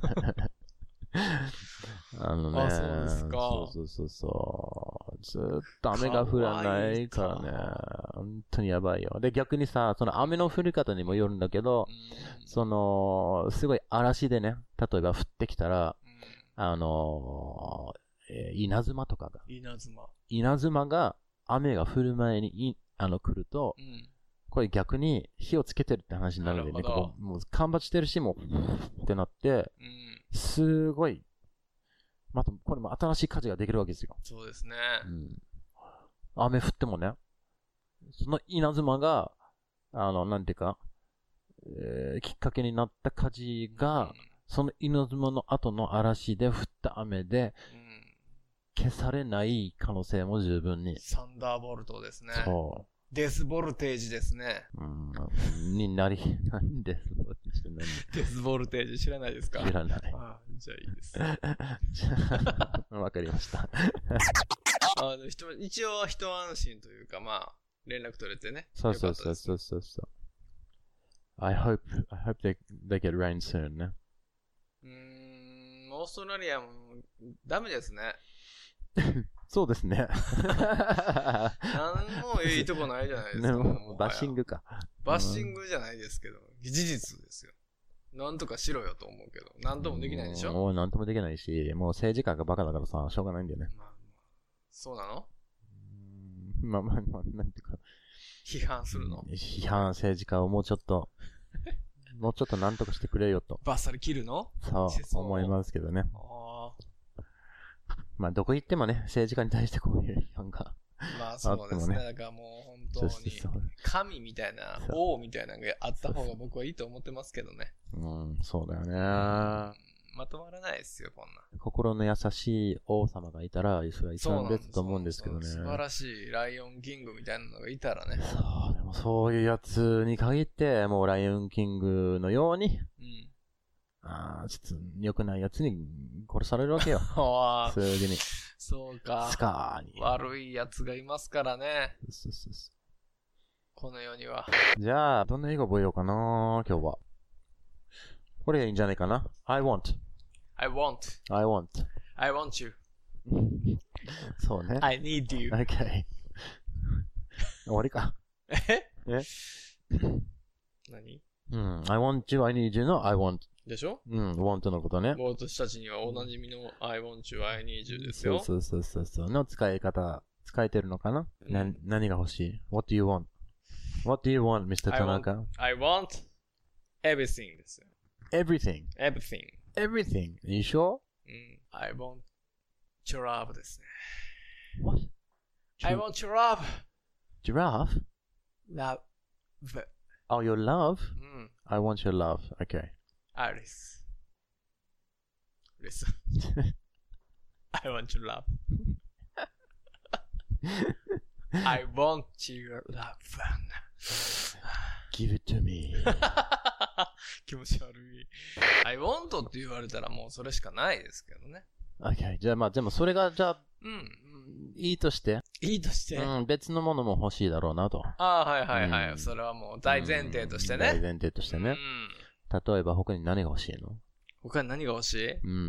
あのね。 あそうですかそうそうそうそう。ずーっと雨が降らないからね。本当にやばいよ。で、逆にさ、その雨の降り方にもよるんだけど、その、すごい嵐でね、例えば降ってきたら、あのー、えー稲妻とかが、 稲妻。稲稲妻が雨が降る前にい、あの、来ると、 うん。 これ逆に火をつけてるって話になるんでね、 なるほどこうもう干ばつしてるし、もう、ってなって、 うん。 すごい、また、これも新しい火事ができるわけですよ。 そうですね。 うん。雨降ってもね、その稲妻が、あの、なんていうか、えーきっかけになった火事が、その稲妻の後の嵐で降った雨で、 うん。うん消されない可能性も十分に。 サンダーボルトですね。 そデスボルテージですね。 う。うん。になり、なんで、そうして何デスボルテージ知らないですか知らない。 ああじゃあいいです。 わかりました。 あでも一一応一安心というか、まあ、連絡取れてね。 そうそうそうう。 そうそうそう。I hope, I hope they, they get rain soon ね。 うーん、オーストラリアもダメですね。 そうですね。 何もいいとこないじゃないですか。 ねもうもはやバッシングか。 バッシングじゃないですけど、事実ですよ。 なんとかしろよと思うけど、なんともできないでしょ。 もうなんともできないし、もう政治家がバカだからさ、しょうがないんだよね。 まあ、そうなの？ うーんまあまあまあ、なんていうか。 批判するの？ 批判政治家をもうちょっと、もうちょっとなんとかしてくれよと。 バッサリ切るの？ そう、思いますけどね。 あまあ、どこ行ってもね、政治家に対してこういう批判が。 まあそうですね。 ねだからもう本当に、神みたいな、王みたいなのがあった方が僕はいいと思ってますけどね。 うん、そうだよね。 まとまらないですよ、こんな。 心の優しい王様がいたら、それは一番ベストと思うんですけどね。 素晴らしいライオンキングみたいなのがいたらね。 そう、でもそういうやつに限って、もうライオンキングのように、 うん。 ああ、ちょっと良くないやつに殺されるわけよ。 ああ、 すぐに。 そうか。 スカーに。 悪いやつがいますからね。 そうそうそうこの世には。 じゃあ、どんな英語覚えようかな、今日は。これがいいんじゃないかな。I want. I want. I want. I want you. そうね。 I need you. Okay. 終わりか。 ええ何うん。I want you, I need you の I want. でしょ？ うん、want のことね。 もう私たちにはおなじみの I want you, I need you ですよ。 そうそうそうそうの使い方、使えてるのかな、うん、な何が欲しい ?What do you want? What do you want, ミスター Tanaka? I want everything ですよ。 Everything. Everything. Everything. You sure? うん。I want your love ですね。 What? I want your love. Giraffe? Love. Oh, your love? うん。 I want your love. Okay. Alice. Listen. I want your love. I want your love. Give it to me. 気持ち悪い。I want って言われたらもうそれしかないですけどね。 Okay. じゃあまあでもそれがじゃあ、 うん。 いいとして。 いいとして。 うん、別のものも欲しいだろうなと。 ああ、はいはいはい。 うん、 それはもう大前提としてね。 大前提としてね。うん、例えば他に何が欲しいの？ 他に何が欲しい？ うん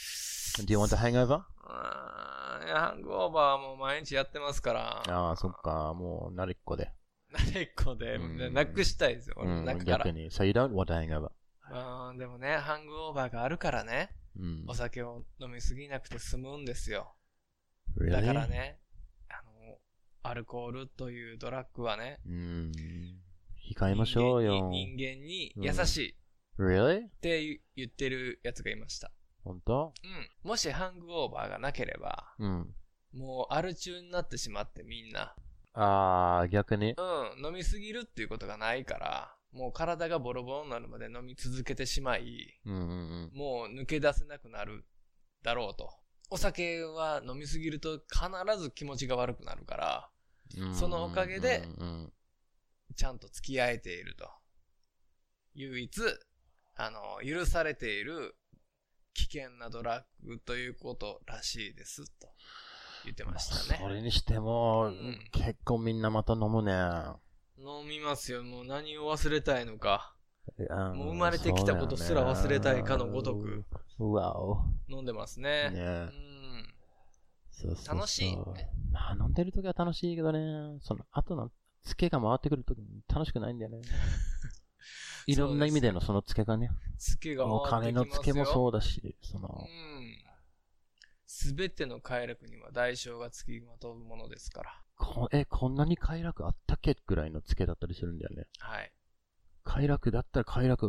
。Do you want a hangover? ああ、いや、ハングオーバーはもう毎日やってますから。 ああ、そっか。もう慣れっこで。 慣れっこで、うん、なくしたいですよ。俺の中から。 逆に。So you don't want a hangover? うん、でもね、ハングオーバーがあるからね。うん、お酒を飲みすぎなくて済むんですよ。 Really? だからね、あの、アルコールというドラッグはね、 うん、控えましょうよ。 人間に優しい。 うん、Really? って言ってるやつがいました。 本当？ うん。もしハングオーバーがなければ、うん、もうアル中になってしまってみんな。 ああ、逆に？ うん。飲みすぎるっていうことがないから、もう体がボロボロになるまで飲み続けてしまい、うんうんうん、もう抜け出せなくなるだろうと。お酒は飲みすぎると必ず気持ちが悪くなるから、うんうんうん、そのおかげで、ちゃんと付き合えていると。唯一、あの、許されている危険なドラッグということらしいです、と言ってましたね。 それにしても、うん、結構みんなまた飲むね。 飲みますよ。もう何を忘れたいのか。もう生まれてきたことすら忘れたいかのごとく。 うわお。 飲んでますね。ね、うん。 そうそうそう、 楽しい。 まあ飲んでるときは楽しいけどね。その後のツケが回ってくるとき楽しくないんだよね。いろんな意味でのそのツケがね。 ツケが回ってきますよ。 お金のツケもそうだし、その。 すべての快楽には代償がつきまとうものですから。 こえ、こんなに快楽あったっけぐらいのツケだったりするんだよね。 はい。 快楽だったら快楽、うん、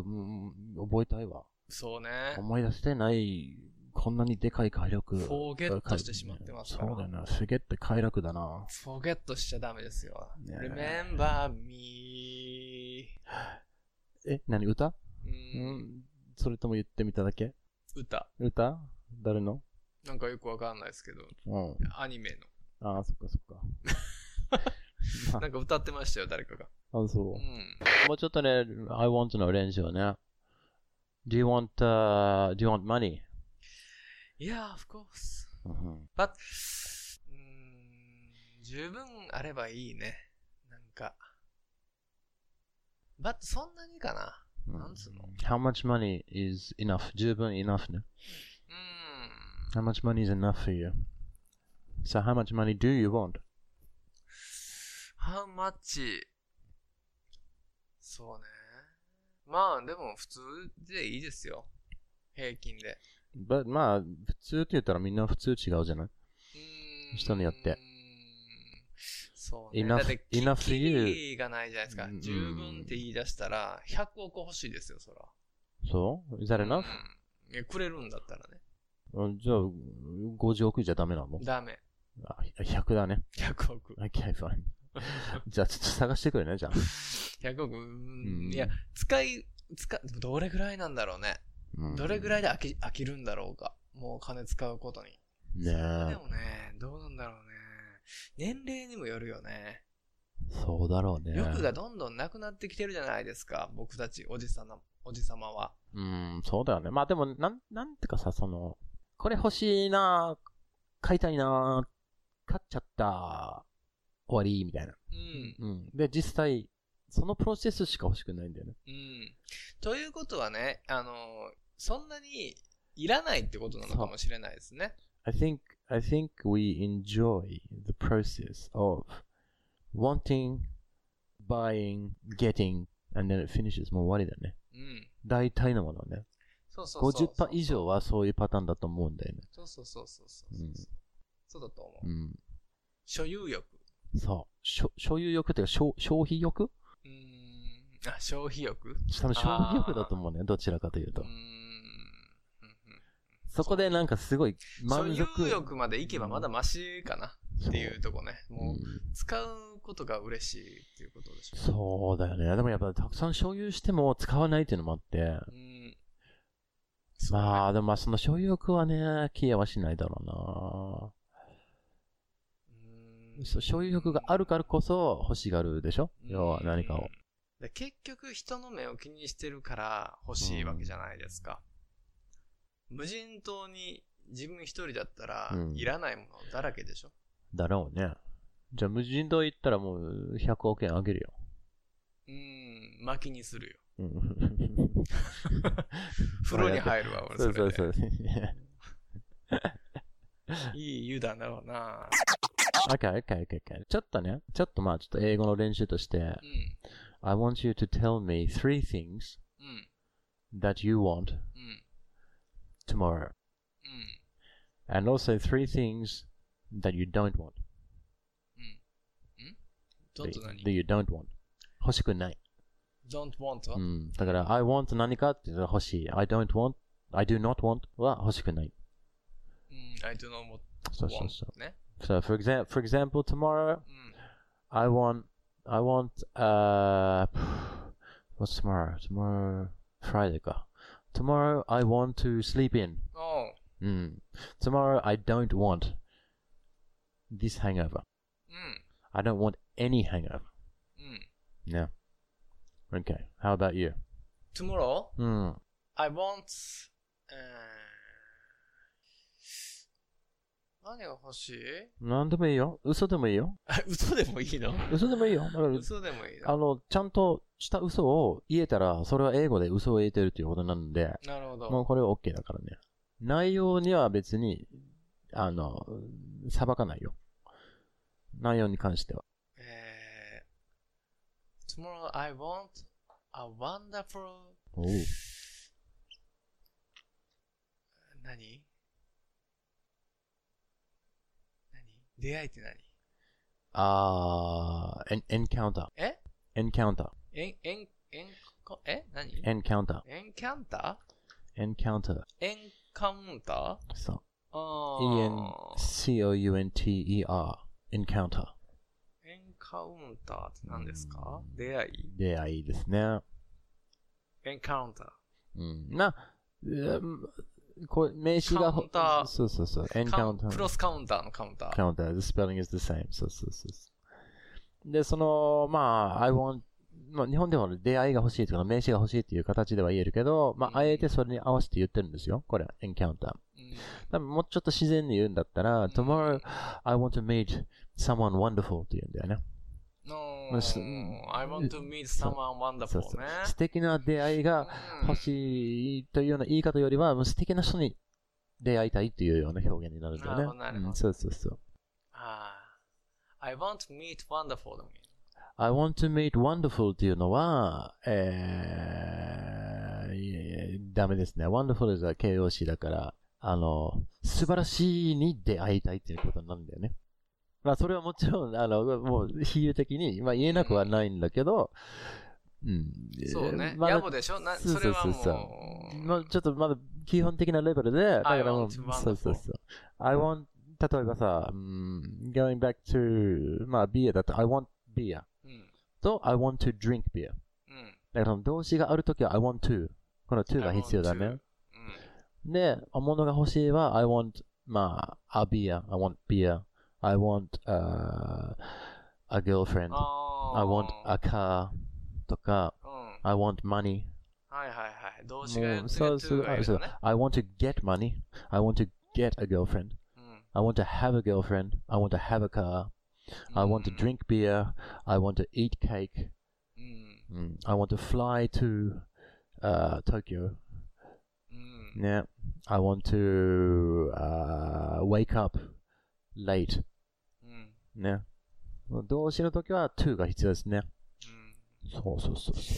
覚えたいわ。 そうね。 思い出してない、こんなにでかい快楽。 フォーゲットしてしまってますから。 そうだよな。フォーゲット快楽だな。 フォーゲットしちゃダメですよ。ね、Remember me. え、何歌？うん。それとも言ってみただけ？ 歌。 歌？誰の？なんかよくわかんないですけど。うん。アニメの。 ああ、そっかそっか。なんか歌ってましたよ、誰かが。 あ、そう。うん、もうちょっとね、I want の練習をね。Do you want,、uh, do you want money? Yeah, of course. But, うーん、十分あればいいね。なんか。But そんなにかな。なんつうの？ How much money is enough? 十分 enough ね。うん。How much money is enough for you? So how much money do you want? How much? そうね。 まあ、でも普通でいいですよ。平均で。 But まあ、普通って言ったらみんな普通違うじゃない？ うーん人によって。 そうね。 Enough- だって、 enough キ to you リがないじゃないですかう。ん十分って言い出したら、ひゃくおく欲しいですよ、そら。 そう ?Is that うん enough?、 いやくれるんだったらね。 うんじゃあ、ごじゅうおくじゃダメなの？ ダメ。 あ、ひゃくだね。 ひゃくおく。 Okay, fine. じゃあ、ちょっと探してくれね、じゃあ。 ひゃくおく、うーうんん、いや、使い、使、どれぐらいなんだろうね。 うんどれぐらいで飽き、飽きるんだろうか。もう金使うことに。 ねそれでえ。 もね、どうなんだろうね。年齢にもよるよね。 そうだろうね。 欲がどんどんなくなってきてるじゃないですか。僕たち、おじさんの、おじさまは。 うん、そうだよね。まあでも、なん、なんてかさ、その、これ欲しいな、買いたいな、買っちゃった、終わり、みたいな。 うん。 うん。で、実際、そのプロセスしか欲しくないんだよね。 うん。ということはね、あの、そんなにいらないってことなのかもしれないですね。 I think, I think we enjoy the process of wanting, buying, getting, and then it finishes もう終わりだね。 うん。 大体のものはね。 そうそうそうそう。 ごじゅっパーセント 以上はそういうパターンだと思うんだよね。 そうそうそうそうそう。 うんそうだと思う。 うん。 所有欲。 そう。しょ所有欲っていうか消、消費欲？ うーん。あ、消費欲？ 多分消費欲だと思うね。どちらかというとうー。ん。うんうんそこでなんかすごい満足。 所有欲までいけばまだマシかなっていうとこね。もう、使うことが嬉しいっていうことでしょ。 そうだよね。でもやっぱたくさん所有しても使わないっていうのもあって。 うん。 まあ、でもまあその所有欲はね、消えはしないだろうな。そう所有欲があるからこそ欲しがるでしょ、要は何かを。 で結局人の目を気にしてるから欲しいわけじゃないですか。うん、無人島に自分一人だったら、うん、いらないものだらけでしょ。 だろうね。じゃあ無人島行ったらもうひゃくおくえんあげるよ。 うーん、薪にするよ。 うん、 風呂に入るわ、俺それで。 そうそうそう。 いい湯だろうな。 Okay, okay, okay, okay. ちょっとね、ちょっとまあちょっと英語の練習として、うん、I want you to tell me three things、うん、that you want、うん、tomorrow、うん、and also three things that you don't want、 うん、ん don't 何 that you don't want 欲しくない don't want、 うん、だから I want 何かって欲しい I don't want I do not want は欲しくない、 うん、I do not want そうそうそうね。 So for example, for example, tomorrow, mm. I want, I want, uh, what's tomorrow? Tomorrow, Friday ka. Tomorrow, I want to sleep in. Oh. Mm. Tomorrow, I don't want this hangover. Mm. I don't want any hangover. Mm. Yeah. Okay. How about you? Tomorrow, mm. I want, uh, 何が欲しい？ なんでもいいよ。嘘でもいいよ。 嘘でもいいの？ 嘘でもいいよ。だから嘘でもいいの？ あの、ちゃんとした嘘を言えたら、それは英語で嘘を言えてるということなんで、 なるほど。 もうこれは OK だからね。内容には別に、あの、裁かないよ。内容に関しては。 えー、Tomorrow I want a wonderful... おう。 何？出会いって何？ あー、エンカウンター。 え？ エンカウンター。 エン、エン、エン、え？何？ エンカウンター。 エンカウンター？エンカウンター。 エンカウンター？ そう。 あー。エヌシーオーユーエヌティーイーアール。エンカウンター。 エンカウンターって何ですか？出会い？ 出会いですね。 エンカウンター。 うん。な、うんこれ名詞が、 カウンター。 そうそうそう。エンカウンター。 クロスカウンターのカウンター。 カウンター。The spelling is the same. そうそうそう。で、その、まあ、I want、まあ、日本でも出会いが欲しいとか、名詞が欲しいっていう形では言えるけど、まあ、あえてそれに合わせて言ってるんですよ。これ、エンカウンター。多分もうちょっと自然に言うんだったら、Tomorrow, I want to meet someone wonderful って言うんだよね。 No, I want to meet someone wonderful そうそうね。 素敵な出会いが欲しいというような言い方よりは、もう素敵な人に出会いたいというような表現になるんだよね。 なるほど、なるほど。 そうそうそう。 ああ、I want to meet wonderful だもん。 I want to meet wonderful っていうのは、えー、いやいやダメですね。wonderful is a 形容詞だから、あの、素晴らしいに出会いたいっていうことなんだよね。まあ、それはもちろん、あの、もう、比喩的に、まあ、言えなくはないんだけど、うん。 そうね。 まだ野暮でしょな、それはもう。 そうそうそうまあ、ちょっとまだ基本的なレベルで、だからもう、 I want そうそうそう。I want、例えばさ、うん、going back to、まあ、ビールだと、I want beer、 うん、 と、I want to drink beer。 うん、 だから動詞があるときは I want to。この to が必要だね。 うん、 で、物が欲しいは I want、まあ、a beer。I want beer。I want、uh, a girlfriend。I want a car。とか、 うん、 I want money。 はいはいはい。動詞がやってるそうそう、 がいるのね。 I want to get money. I want to get a girlfriend. うん、 I want to have a girlfriend. I want to have a car. I want to drink beer. I want to eat cake. うん、 I want to fly to、uh, Tokyo. うん、 ね。I want to、uh, wake up late. うん、 ね。動詞の時は to が必要ですね。そうそうそうそう。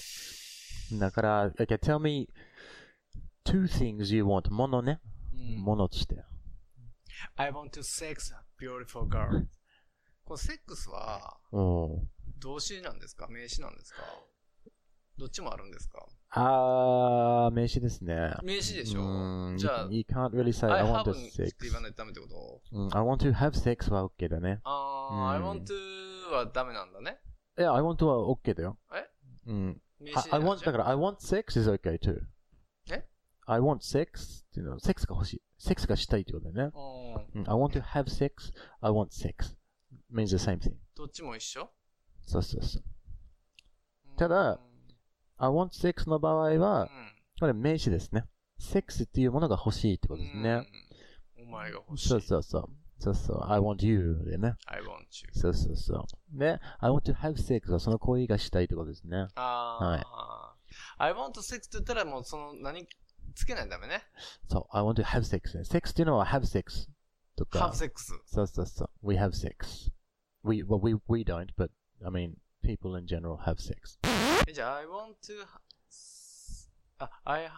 だから、okay, tell me two things you want. ものね。ものとして。 I want to sex a beautiful girl. このセックスは、動詞なんですか名詞なんですかどっちもあるんですかあー、名詞ですね。 名詞でしょじゃあ、 you can't really say I want to sex. って言わないとダメってこと I want to have sex は OK だね。 あー、I want to はダメなんだね。 いや、I want to は OK だよ。 えうん。 名詞 I want、だから I want sex is OK too. え I want sex っていうのは、セックスが欲しい。セックスがしたいってことだよね。うん。I want to have sex, I want sex. means the same thing. どっちも一緒そうそうそう。ただ、I want sex の場合は、これ名詞ですね。セックスっていうものが欲しいってことですね。 お前が欲しい。 そうそうそう。そうそう。I want you でね。 I want you. そうそうそう。で、I want to have sex はその行為がしたいってことですね。 ああ。はい。I want sex って言ったらもうその何つけないとダメね。 そう。I want to have sex ね。sex っていうのは have sex とか。 have sex. そうそうそう。We have sex. We, well, we, we don't, but, I mean, people in general have sex. じゃあ、I want to, あ、I,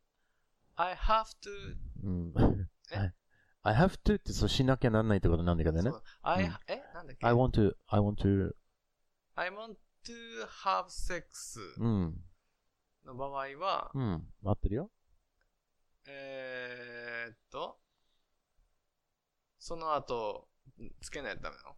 I have to, うん。I have to ってそうしなきゃなんないってことなんだけどね。 I, えなんだっけ I want to, I want to, I want to have sex の場合は、 うん、合ってるよ。 えーっと、その後、つけないとダメなの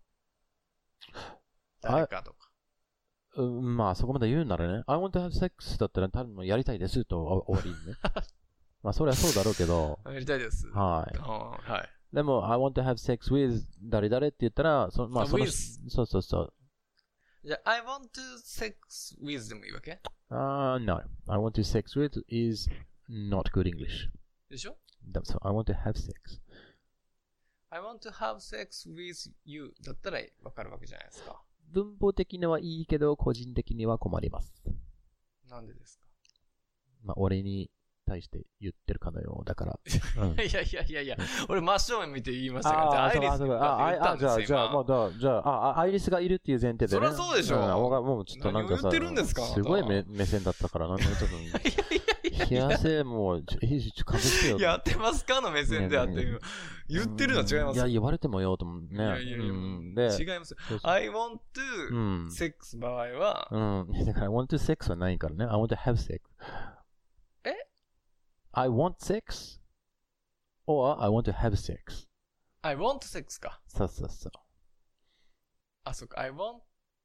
誰かとか。 うん、まあそこまで言うならね。I want to have sex だったら多分やりたいですと終わりね。まあそれはそうだろうけど。 やりたいです。 はい。 はい。 でも、I want to have sex with 誰々って言ったら、そまあその、そうそうそう。 じゃあ、I want to sex with でもいいわけあ、uh, no. I want to sex with is not good English. でしょ So I want to have sex. I want to have sex with you だったらわかるわけじゃないですか。 文法的にはいいけど、個人的には困ります。 なんでですかまあ、俺に対して言ってるかのようだから。 うん、いやいやいやいや、俺真正面見て言いましたから、アイリスが言ったんですよ。 あ、じゃあ、じゃあ、まあ、じゃあ、アイリスがいるっていう前提でね。 そりゃそうでしょ。うん、 もうちょっとなんかさ、 何を言ってるんですかすごい目目線だったからな、ちょっと。冷やせ、もう、ちょ、ちょ、隠してよ。 やってますかの目線であって、言ってるのは違います。 いや、言われてもよ、と思うね。いやいやいや、違います。I want to sex 場合は、 うん。だから、I want to sex はないからね。I want to have sex. え I want sex or I want to have sex. I want sex か。 そうそうそう。 あ、そっか。I want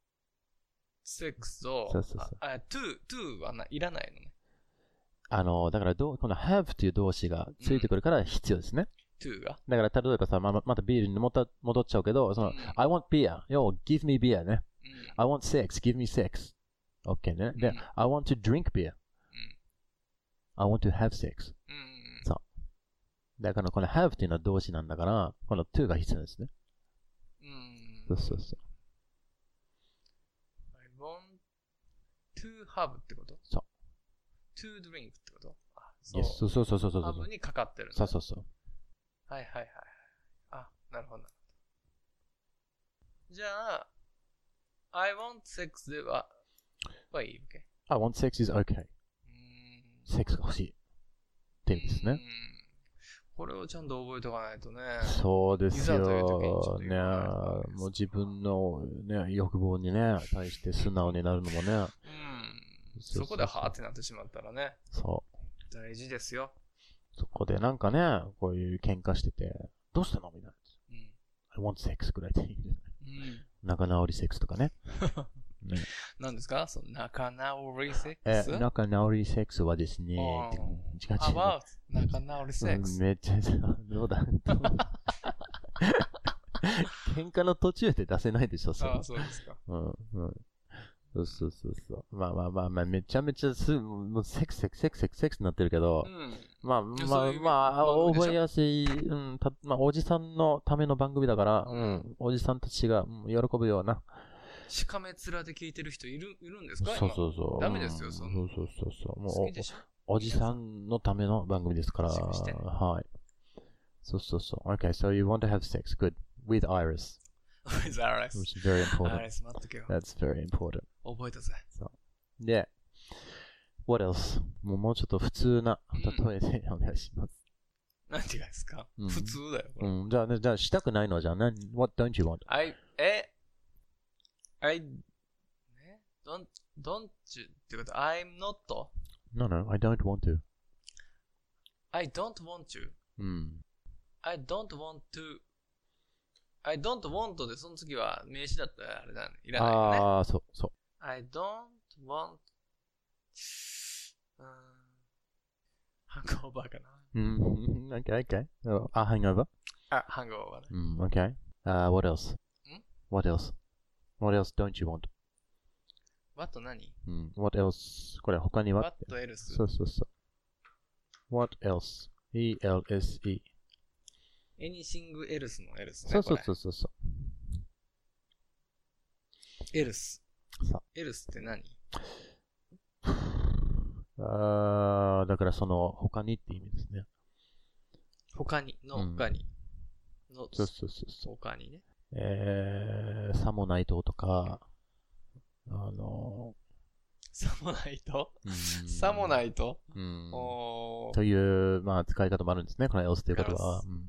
sex を、 そうそうそう。 あ、to, to はないらないのね。 あの、だからどう、この have という動詞がついてくるから必要ですね。 うん、to が。 だから例えばさ、ま、またビールに戻っちゃうけど、その、うん、I want beer. Yo, give me beer ね。うん、I want sex. Give me sex. OK ね。で、うん、I want to drink beer.、うん、I want to have sex.、うん、そう。だからこの have っていうのは動詞なんだから、この to が必要ですね。 うん。 そうそうそう。 I want to have ってこと？ そう。 to drink ってこと？あ、 そう。Yes, そうそうそうそうそう。 have にかかってる。 そうそうそう。 はいはいはい。あ、なるほど。じゃあ、 I want sex では、はいい、OK。 I want sex is okay. うーんセックスが欲しい。って意味ですね。 うーんこれをちゃんと覚えておかないとね。 そうですいざという時にちょっよ。 とね言わないとダメですもう自分の、ね、欲望にね、対して素直になるのもね。 うん。 そうそうそうそこではーってなってしまったらね。 そう。 大事ですよ。 そこでなんかね、こういう喧嘩してて、どうしたのみたいな。 うん。 I want sex ぐらいでいいんじゃないうん。 仲直りセックスとかね。ね何ですかその仲直りセッえクス、 仲直りセックスはですね、 あー違う違う。 about 仲直りセックス。 うんめっちゃ、どうだ喧嘩の途中で出せないでしょ、それああ、そうですか。 うん、うん。そうそうそうそう。まあまあまあまあ、めちゃめちゃすぐ、もうセックス、セックス、セックス、セックス、セックスになってるけど、 うん。 まあまあいやそういうまあ、 番組でしょ覚えやすい、うん、たまあ、おじさんのための番組だから、 ううんん、おじさんたちが、うん、喜ぶような。 しかめ面で聞いてる人いる、いるんですかそうそうそう。 ダメですようんそんなそうそうそうそう。も好きでしょうお、おじさんのための番組ですから、 自粛してねはい。そうそうそう。Okay, so you want to have sex. Good. With Iris. with Iris. Which is very important. アイリス待っとけよ。 That's very important. 覚えたぜ。 で、what else? もうもうちょっと普通な例えでお願いします。 なんて言うんですか、 うん普通だよ。これうん、じゃあね、じゃあしたくないのはじゃあ何 What don't you want? I, え I, ね don't, don't you ってこと I'm not, No, no, I don't want to. I don't want you, うん。 I don't want to, I don't want でその次は名詞だったらあれだね。いらないよね。 ああ、そう、そ I don't want, うーん、ハングオーバーかな。 う。うん、okay, okay. Oh, a hangover? あ、ハングオーバーね。 うん、okay. Uh, what else? ん What else? What else don't you want? What 何うん、what else? これ他には ?What else? そうそうそう。What else? E L S E. Anything else の else ね。 そうそうこそうそうそれ else。 う。さ else って何あーだからその他にって意味ですね。 他に、のうん他に。のそうそうそうそう。 他にね。 えー、さもないととか、あのさもないとー、うんさもないとうん。 おーという、まあ、使い方もあるんですね。この else という言葉は。 else うん。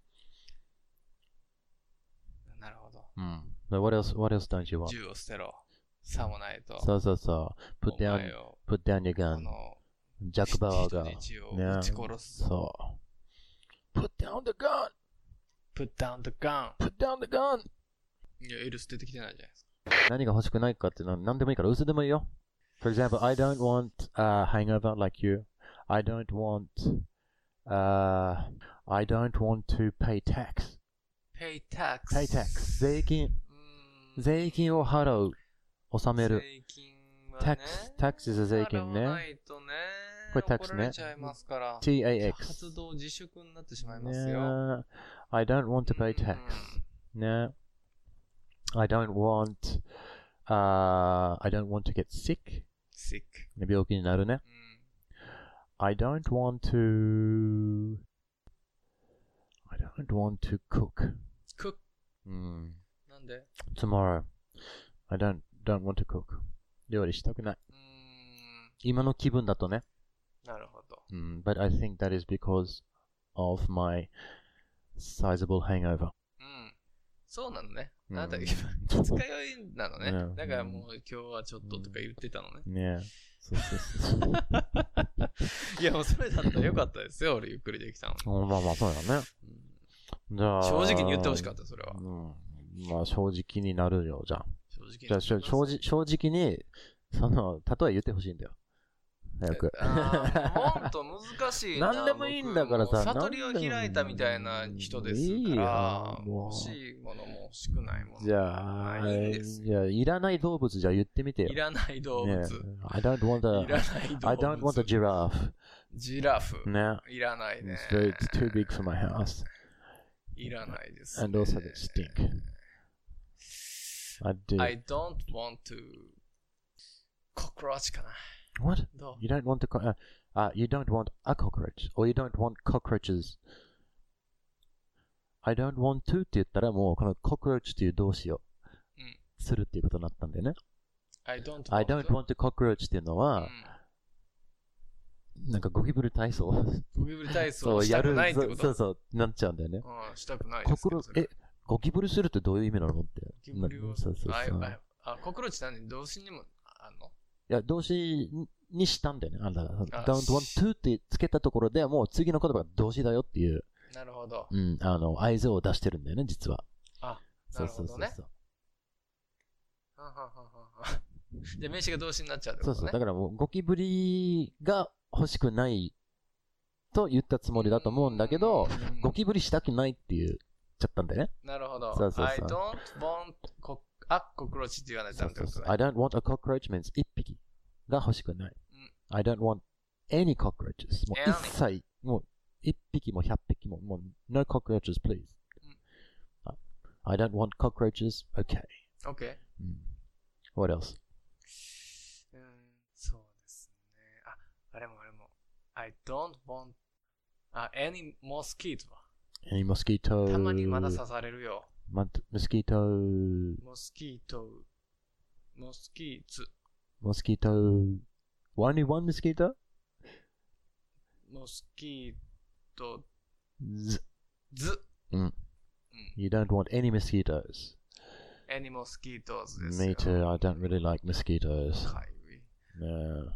なるほど。 うん。But what else, what else don't you want? 銃を捨てろ。さもないと。 そうそうそう。put お down, 前を put down your あ gun. の、 ジャック・バウアーが。 人質をね撃ち殺す。 そう。put down the gun! put down the gun. put down the gun! いや、エルス出てきてないじゃないですか。 何が欲しくないかっていうのは何でもいいから嘘でもいいよ。For example, I don't want a hangover like you. I don't want, uh, I don't want to pay tax. pay tax. pay tax. 税金。 うーん税金を払う。納める。 税金はね。 tax, tax is a 税金ね払わないとね。 これ tax ね怒られちゃいますから。 ティーエーエックス。 発動自粛になってしまいますよ。 ね I don't want to pay うん tax. ね I don't want, uh, I don't want to get sick. sick. ね病気になるね。 うん I don't want to, I don't want to cook. cook. うんなんで Tomorrow. I don't, don't want to cook. 料理したくない。 うーん。 今の気分だとね。 なるほど。 うん But I think that is because of my sizable hangover. うん。そうなのね。 うんあなた、二日酔いなのね。 ねだからもう今日はちょっととか言ってたのね。 ねそうそうそう。 いや、もうそれだったらよかったですよ。俺ゆっくりできたの。 うんまあまあそうだね。じゃあ。 正直に言ってほしかった、それは。 うん。まあ正直になるよ、じゃあ。 正直にじゃあしょ正直正直に、その、例え言ってほしいんだよ。早く。 あーもっと難しいな。 何でもいいんだからさ僕も悟りを開いたみたいな人ですいいから、 よもう欲しいものも欲しくないもの。 じゃあ、 ないんですよじゃあ、いらない動物じゃあ言ってみてよ。 いらない動物。 ね I don't want い a, らない動物。 I don't want a giraffe. ジラフ。 ね。 いらないね It's, very, it's too big for my house. いらないです、ね。 And also they stink. I do. I don't want to cockroach かな。 What? どう You don't want to, co- uh, uh, you don't want a cockroach, or you don't want cockroaches. I don't want to って言ったらもうこの cockroach っていう動詞をするっていうことになったんだよね。 I don't want, I don't want cockroach っていうのは、なんかゴキブリ体操ゴキブリ体操したくないってこと？ そうそう、なっちゃうんだよね。 うん、したくないですけど。 え、ゴキブリするってどういう意味なのって。 ゴキブリを、 そうそうそう。 あ、あ、コクローチって何？動詞にもあんの？ いや、動詞にしたんだよね。あんたが。don't want to ってつけたところでもう次の言葉が動詞だよっていう。 なるほど。 うん、あの、合図を出してるんだよね、実は。 あ、なるほどね。はははは。で、名詞が動詞になっちゃうってことね。 そうそう。だからもう、ゴキブリが欲しくないと言ったつもりだと思うんだけど、ゴキブリしたくないって言っちゃったんだよね。 なるほど。 そうそうそう。 I don't want co- a cockroach って言わないとダメってことね。 I don't want a cockroach means 一匹が欲しくない。うん、I don't want any cockroaches. もう一切、もう一匹も百匹も、もう no cockroaches please.、うん、I don't want cockroaches. Okay. Okay.、うん、 What else? うん、そうですね。あ、あれもあれも。I don't want, あ、any mosquito. Any mosquito. たまにまだ刺されるよ。 mosquito. モスキート。モスキーツ。 mosquito. Only one mosquito? モスキート。 ず。 ず。 うん。You don't want any mosquitoes.Any mosquitoes ですよ。 Me too. I don't really like mosquitoes. かゆい。 No.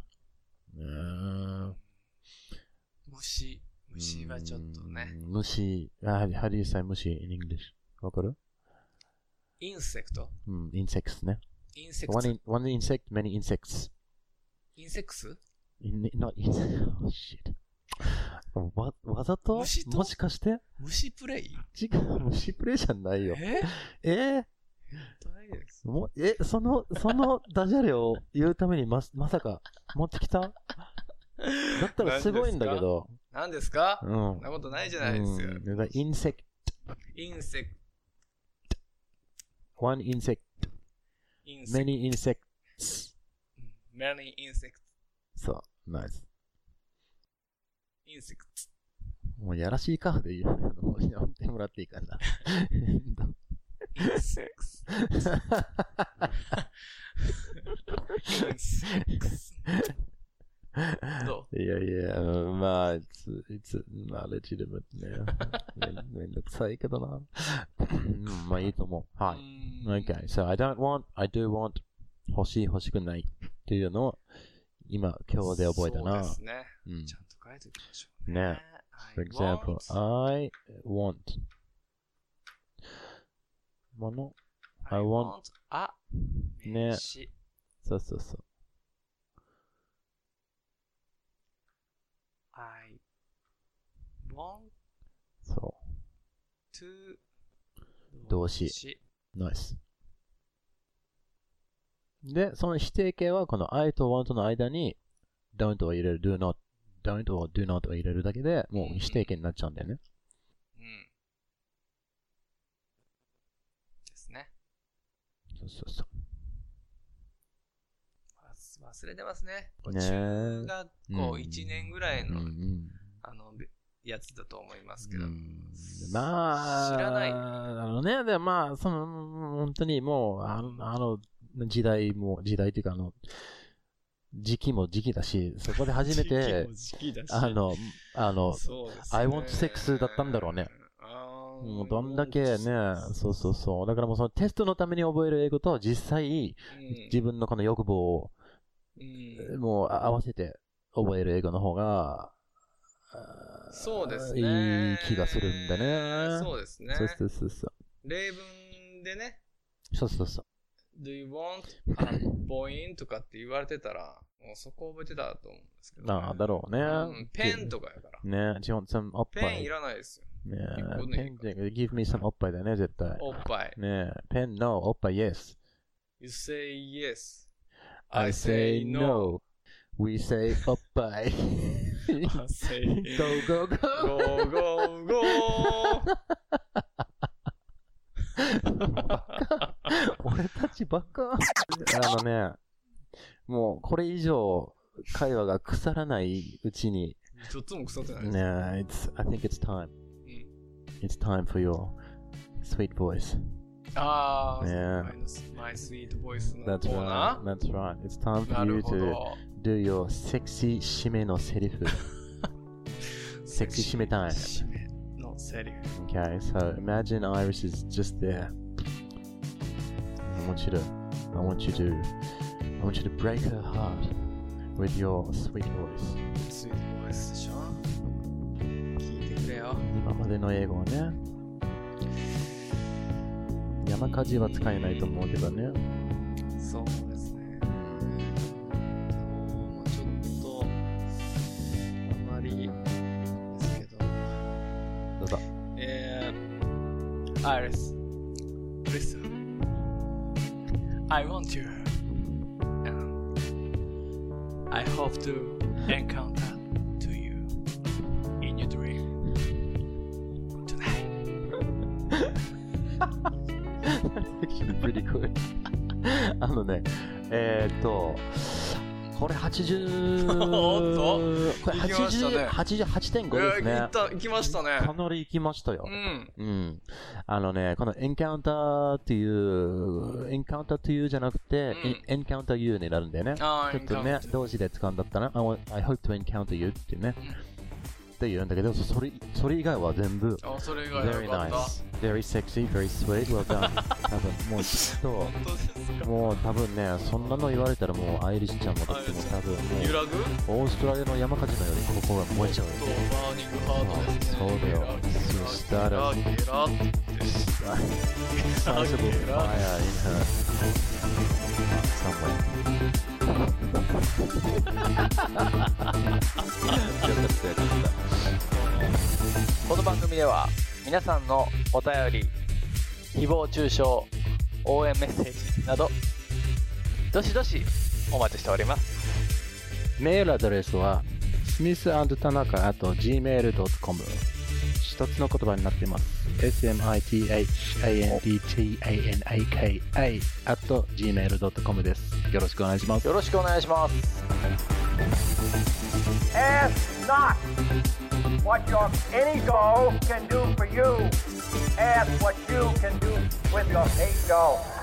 No. 虫。虫はちょっとね。 虫。How do you say 虫 in English? わかる？ インセクト。 うん、insects ね。 インセクト。 One, in, one insect, many insects. インセクス？ In, not insect. Oh shit. わ、わざと？ 虫と？ もしかして？ 虫プレイ？ 違う、虫プレイじゃないよ。 え？ えーもえ、その、そのダジャレを言うためにま、まさか持ってきた？だったらすごいんだけど。 何ですか？ うん。 そんなことないじゃないですよ。 うん、インセクト。 インセクト。one insect. many insects. many insects. そう、ナイス。 インセクト。 もうやらしいカーで言うのをやってもらっていいかな。 Insects. Insects. どう？ いやいや、まあ、it's, it's not legitimate ね。めんどくさいけどな。まあいいと思う。はい。Okay, so I don't want, I do want 欲しい欲しくないっていうのを今、今日で覚えたな。 そうですね。うん、ちゃんと書いておきましょうね。 ね。For example, I want もの I want a ね。そうそうそう。 I want そう。 to 動詞。ナイス。で、その否定形はこの I と want の間に don't を入れる、do not、don't を do not を入れるだけでもう否定形になっちゃうんだよね。 うん。ですね。 そうそうそう。 忘れてますね。中学校いちねんぐらいの、 うんうん、 あの、やつだと思いますけど。 まあ、 知らない。 あのね、でまあ、その、本当にもう、あの、あの時代も、時代っていうか、あの、時期も時期だし、そこで初めて、あの、あの、ね、I want sex だったんだろうね。もうどんだけね、そうそうそう。だからもうそのテストのために覚える英語と実際、うん、自分のこの欲望を、うん、もう合わせて覚える英語の方が、 そうですね。 いい気がするんだね。 そうですね。 そうそうそうそう。 例文でね。 そうそうそう。 Do you want a point? とかって言われてたら、もうそこ覚えてたと思うんですけど、ね。 ああ、だろうね、うん。 ペンとかやから。 ね、Do you want some おっぱい？ ペンいらないですよ。 ねペンで give me some おっぱいだよね、絶対。 おっぱい。 ねペン no、おっぱい yes。 You say yes.I say no. We say おっぱい。 I say go go go. Go go go. 俺たちばっか。あのね、もうこれ以上会話が腐らないうちに。 ちょっとも腐ってないです。 ね、it's, I think it's time. It's time for your sweet voice. ああ、 Yeah. My sweet voice の That's コーナ right. That's right. It's time ー。な for る you ほ to ど。 do your sexy 締めのセリフ。セクシー締めタイム。 締めのセリフ。 Okay, so imagine Iris is just there. I want you to, I want you to, I want you to break her heart with your sweet voice. スイートボイスでしょ。聞いてくれよ。 今までの英語はね、山火事は使えないと思うけどね。 そうですね。もうちょっと、あまりですけど。 どうぞ。 えー、Iris, listen. I want you. And I hope to encounter to you in your dream tonight. Actually pretty good. あのね、えーっと、これはちじゅう、 おっとこれ行きましたねはちじゅうはちてんごですね。 いや、行った、行きましたね。 かなり行きましたよ。 うん。 うん。あのね、このエンカウンターっていう、エンカウンターというじゃなくて、エンカウンター you になるんだよね。 ああ、 ちょっとね、動詞で使うんだったら、I, want, I hope to encounter you っていうね。って言うんだけど、それ、それ以外は全部、 あ、それ以外 very はよかった。 nice, very sexy, very sweet, well done. 多分もうきっと、 本当ですか。 もう多分ね、そんなの言われたらもうアイリッシュちゃんもだってもう多分もう、 揺らぐオーストラリアの山火事のように心が燃えちゃうよとね。 バーニングハートですね。 そうだよ。そしたら、 ゲラゲラって。 sizable fire in her somewhere. この番組では皆さんのお便り、誹謗中傷、応援メッセージなどどしどしお待ちしております。 メールアドレスは スミスアンドタナカ at ジーメールドットコム 一つの言葉になっています。 エスエムアイティーエイチアンドティーエーエヌエーケーエー at ジーメールドットコム です。よろしくお願いします。 よろしくお願いします。 Ask not what your ego can do for you. Ask what you can do with your ego.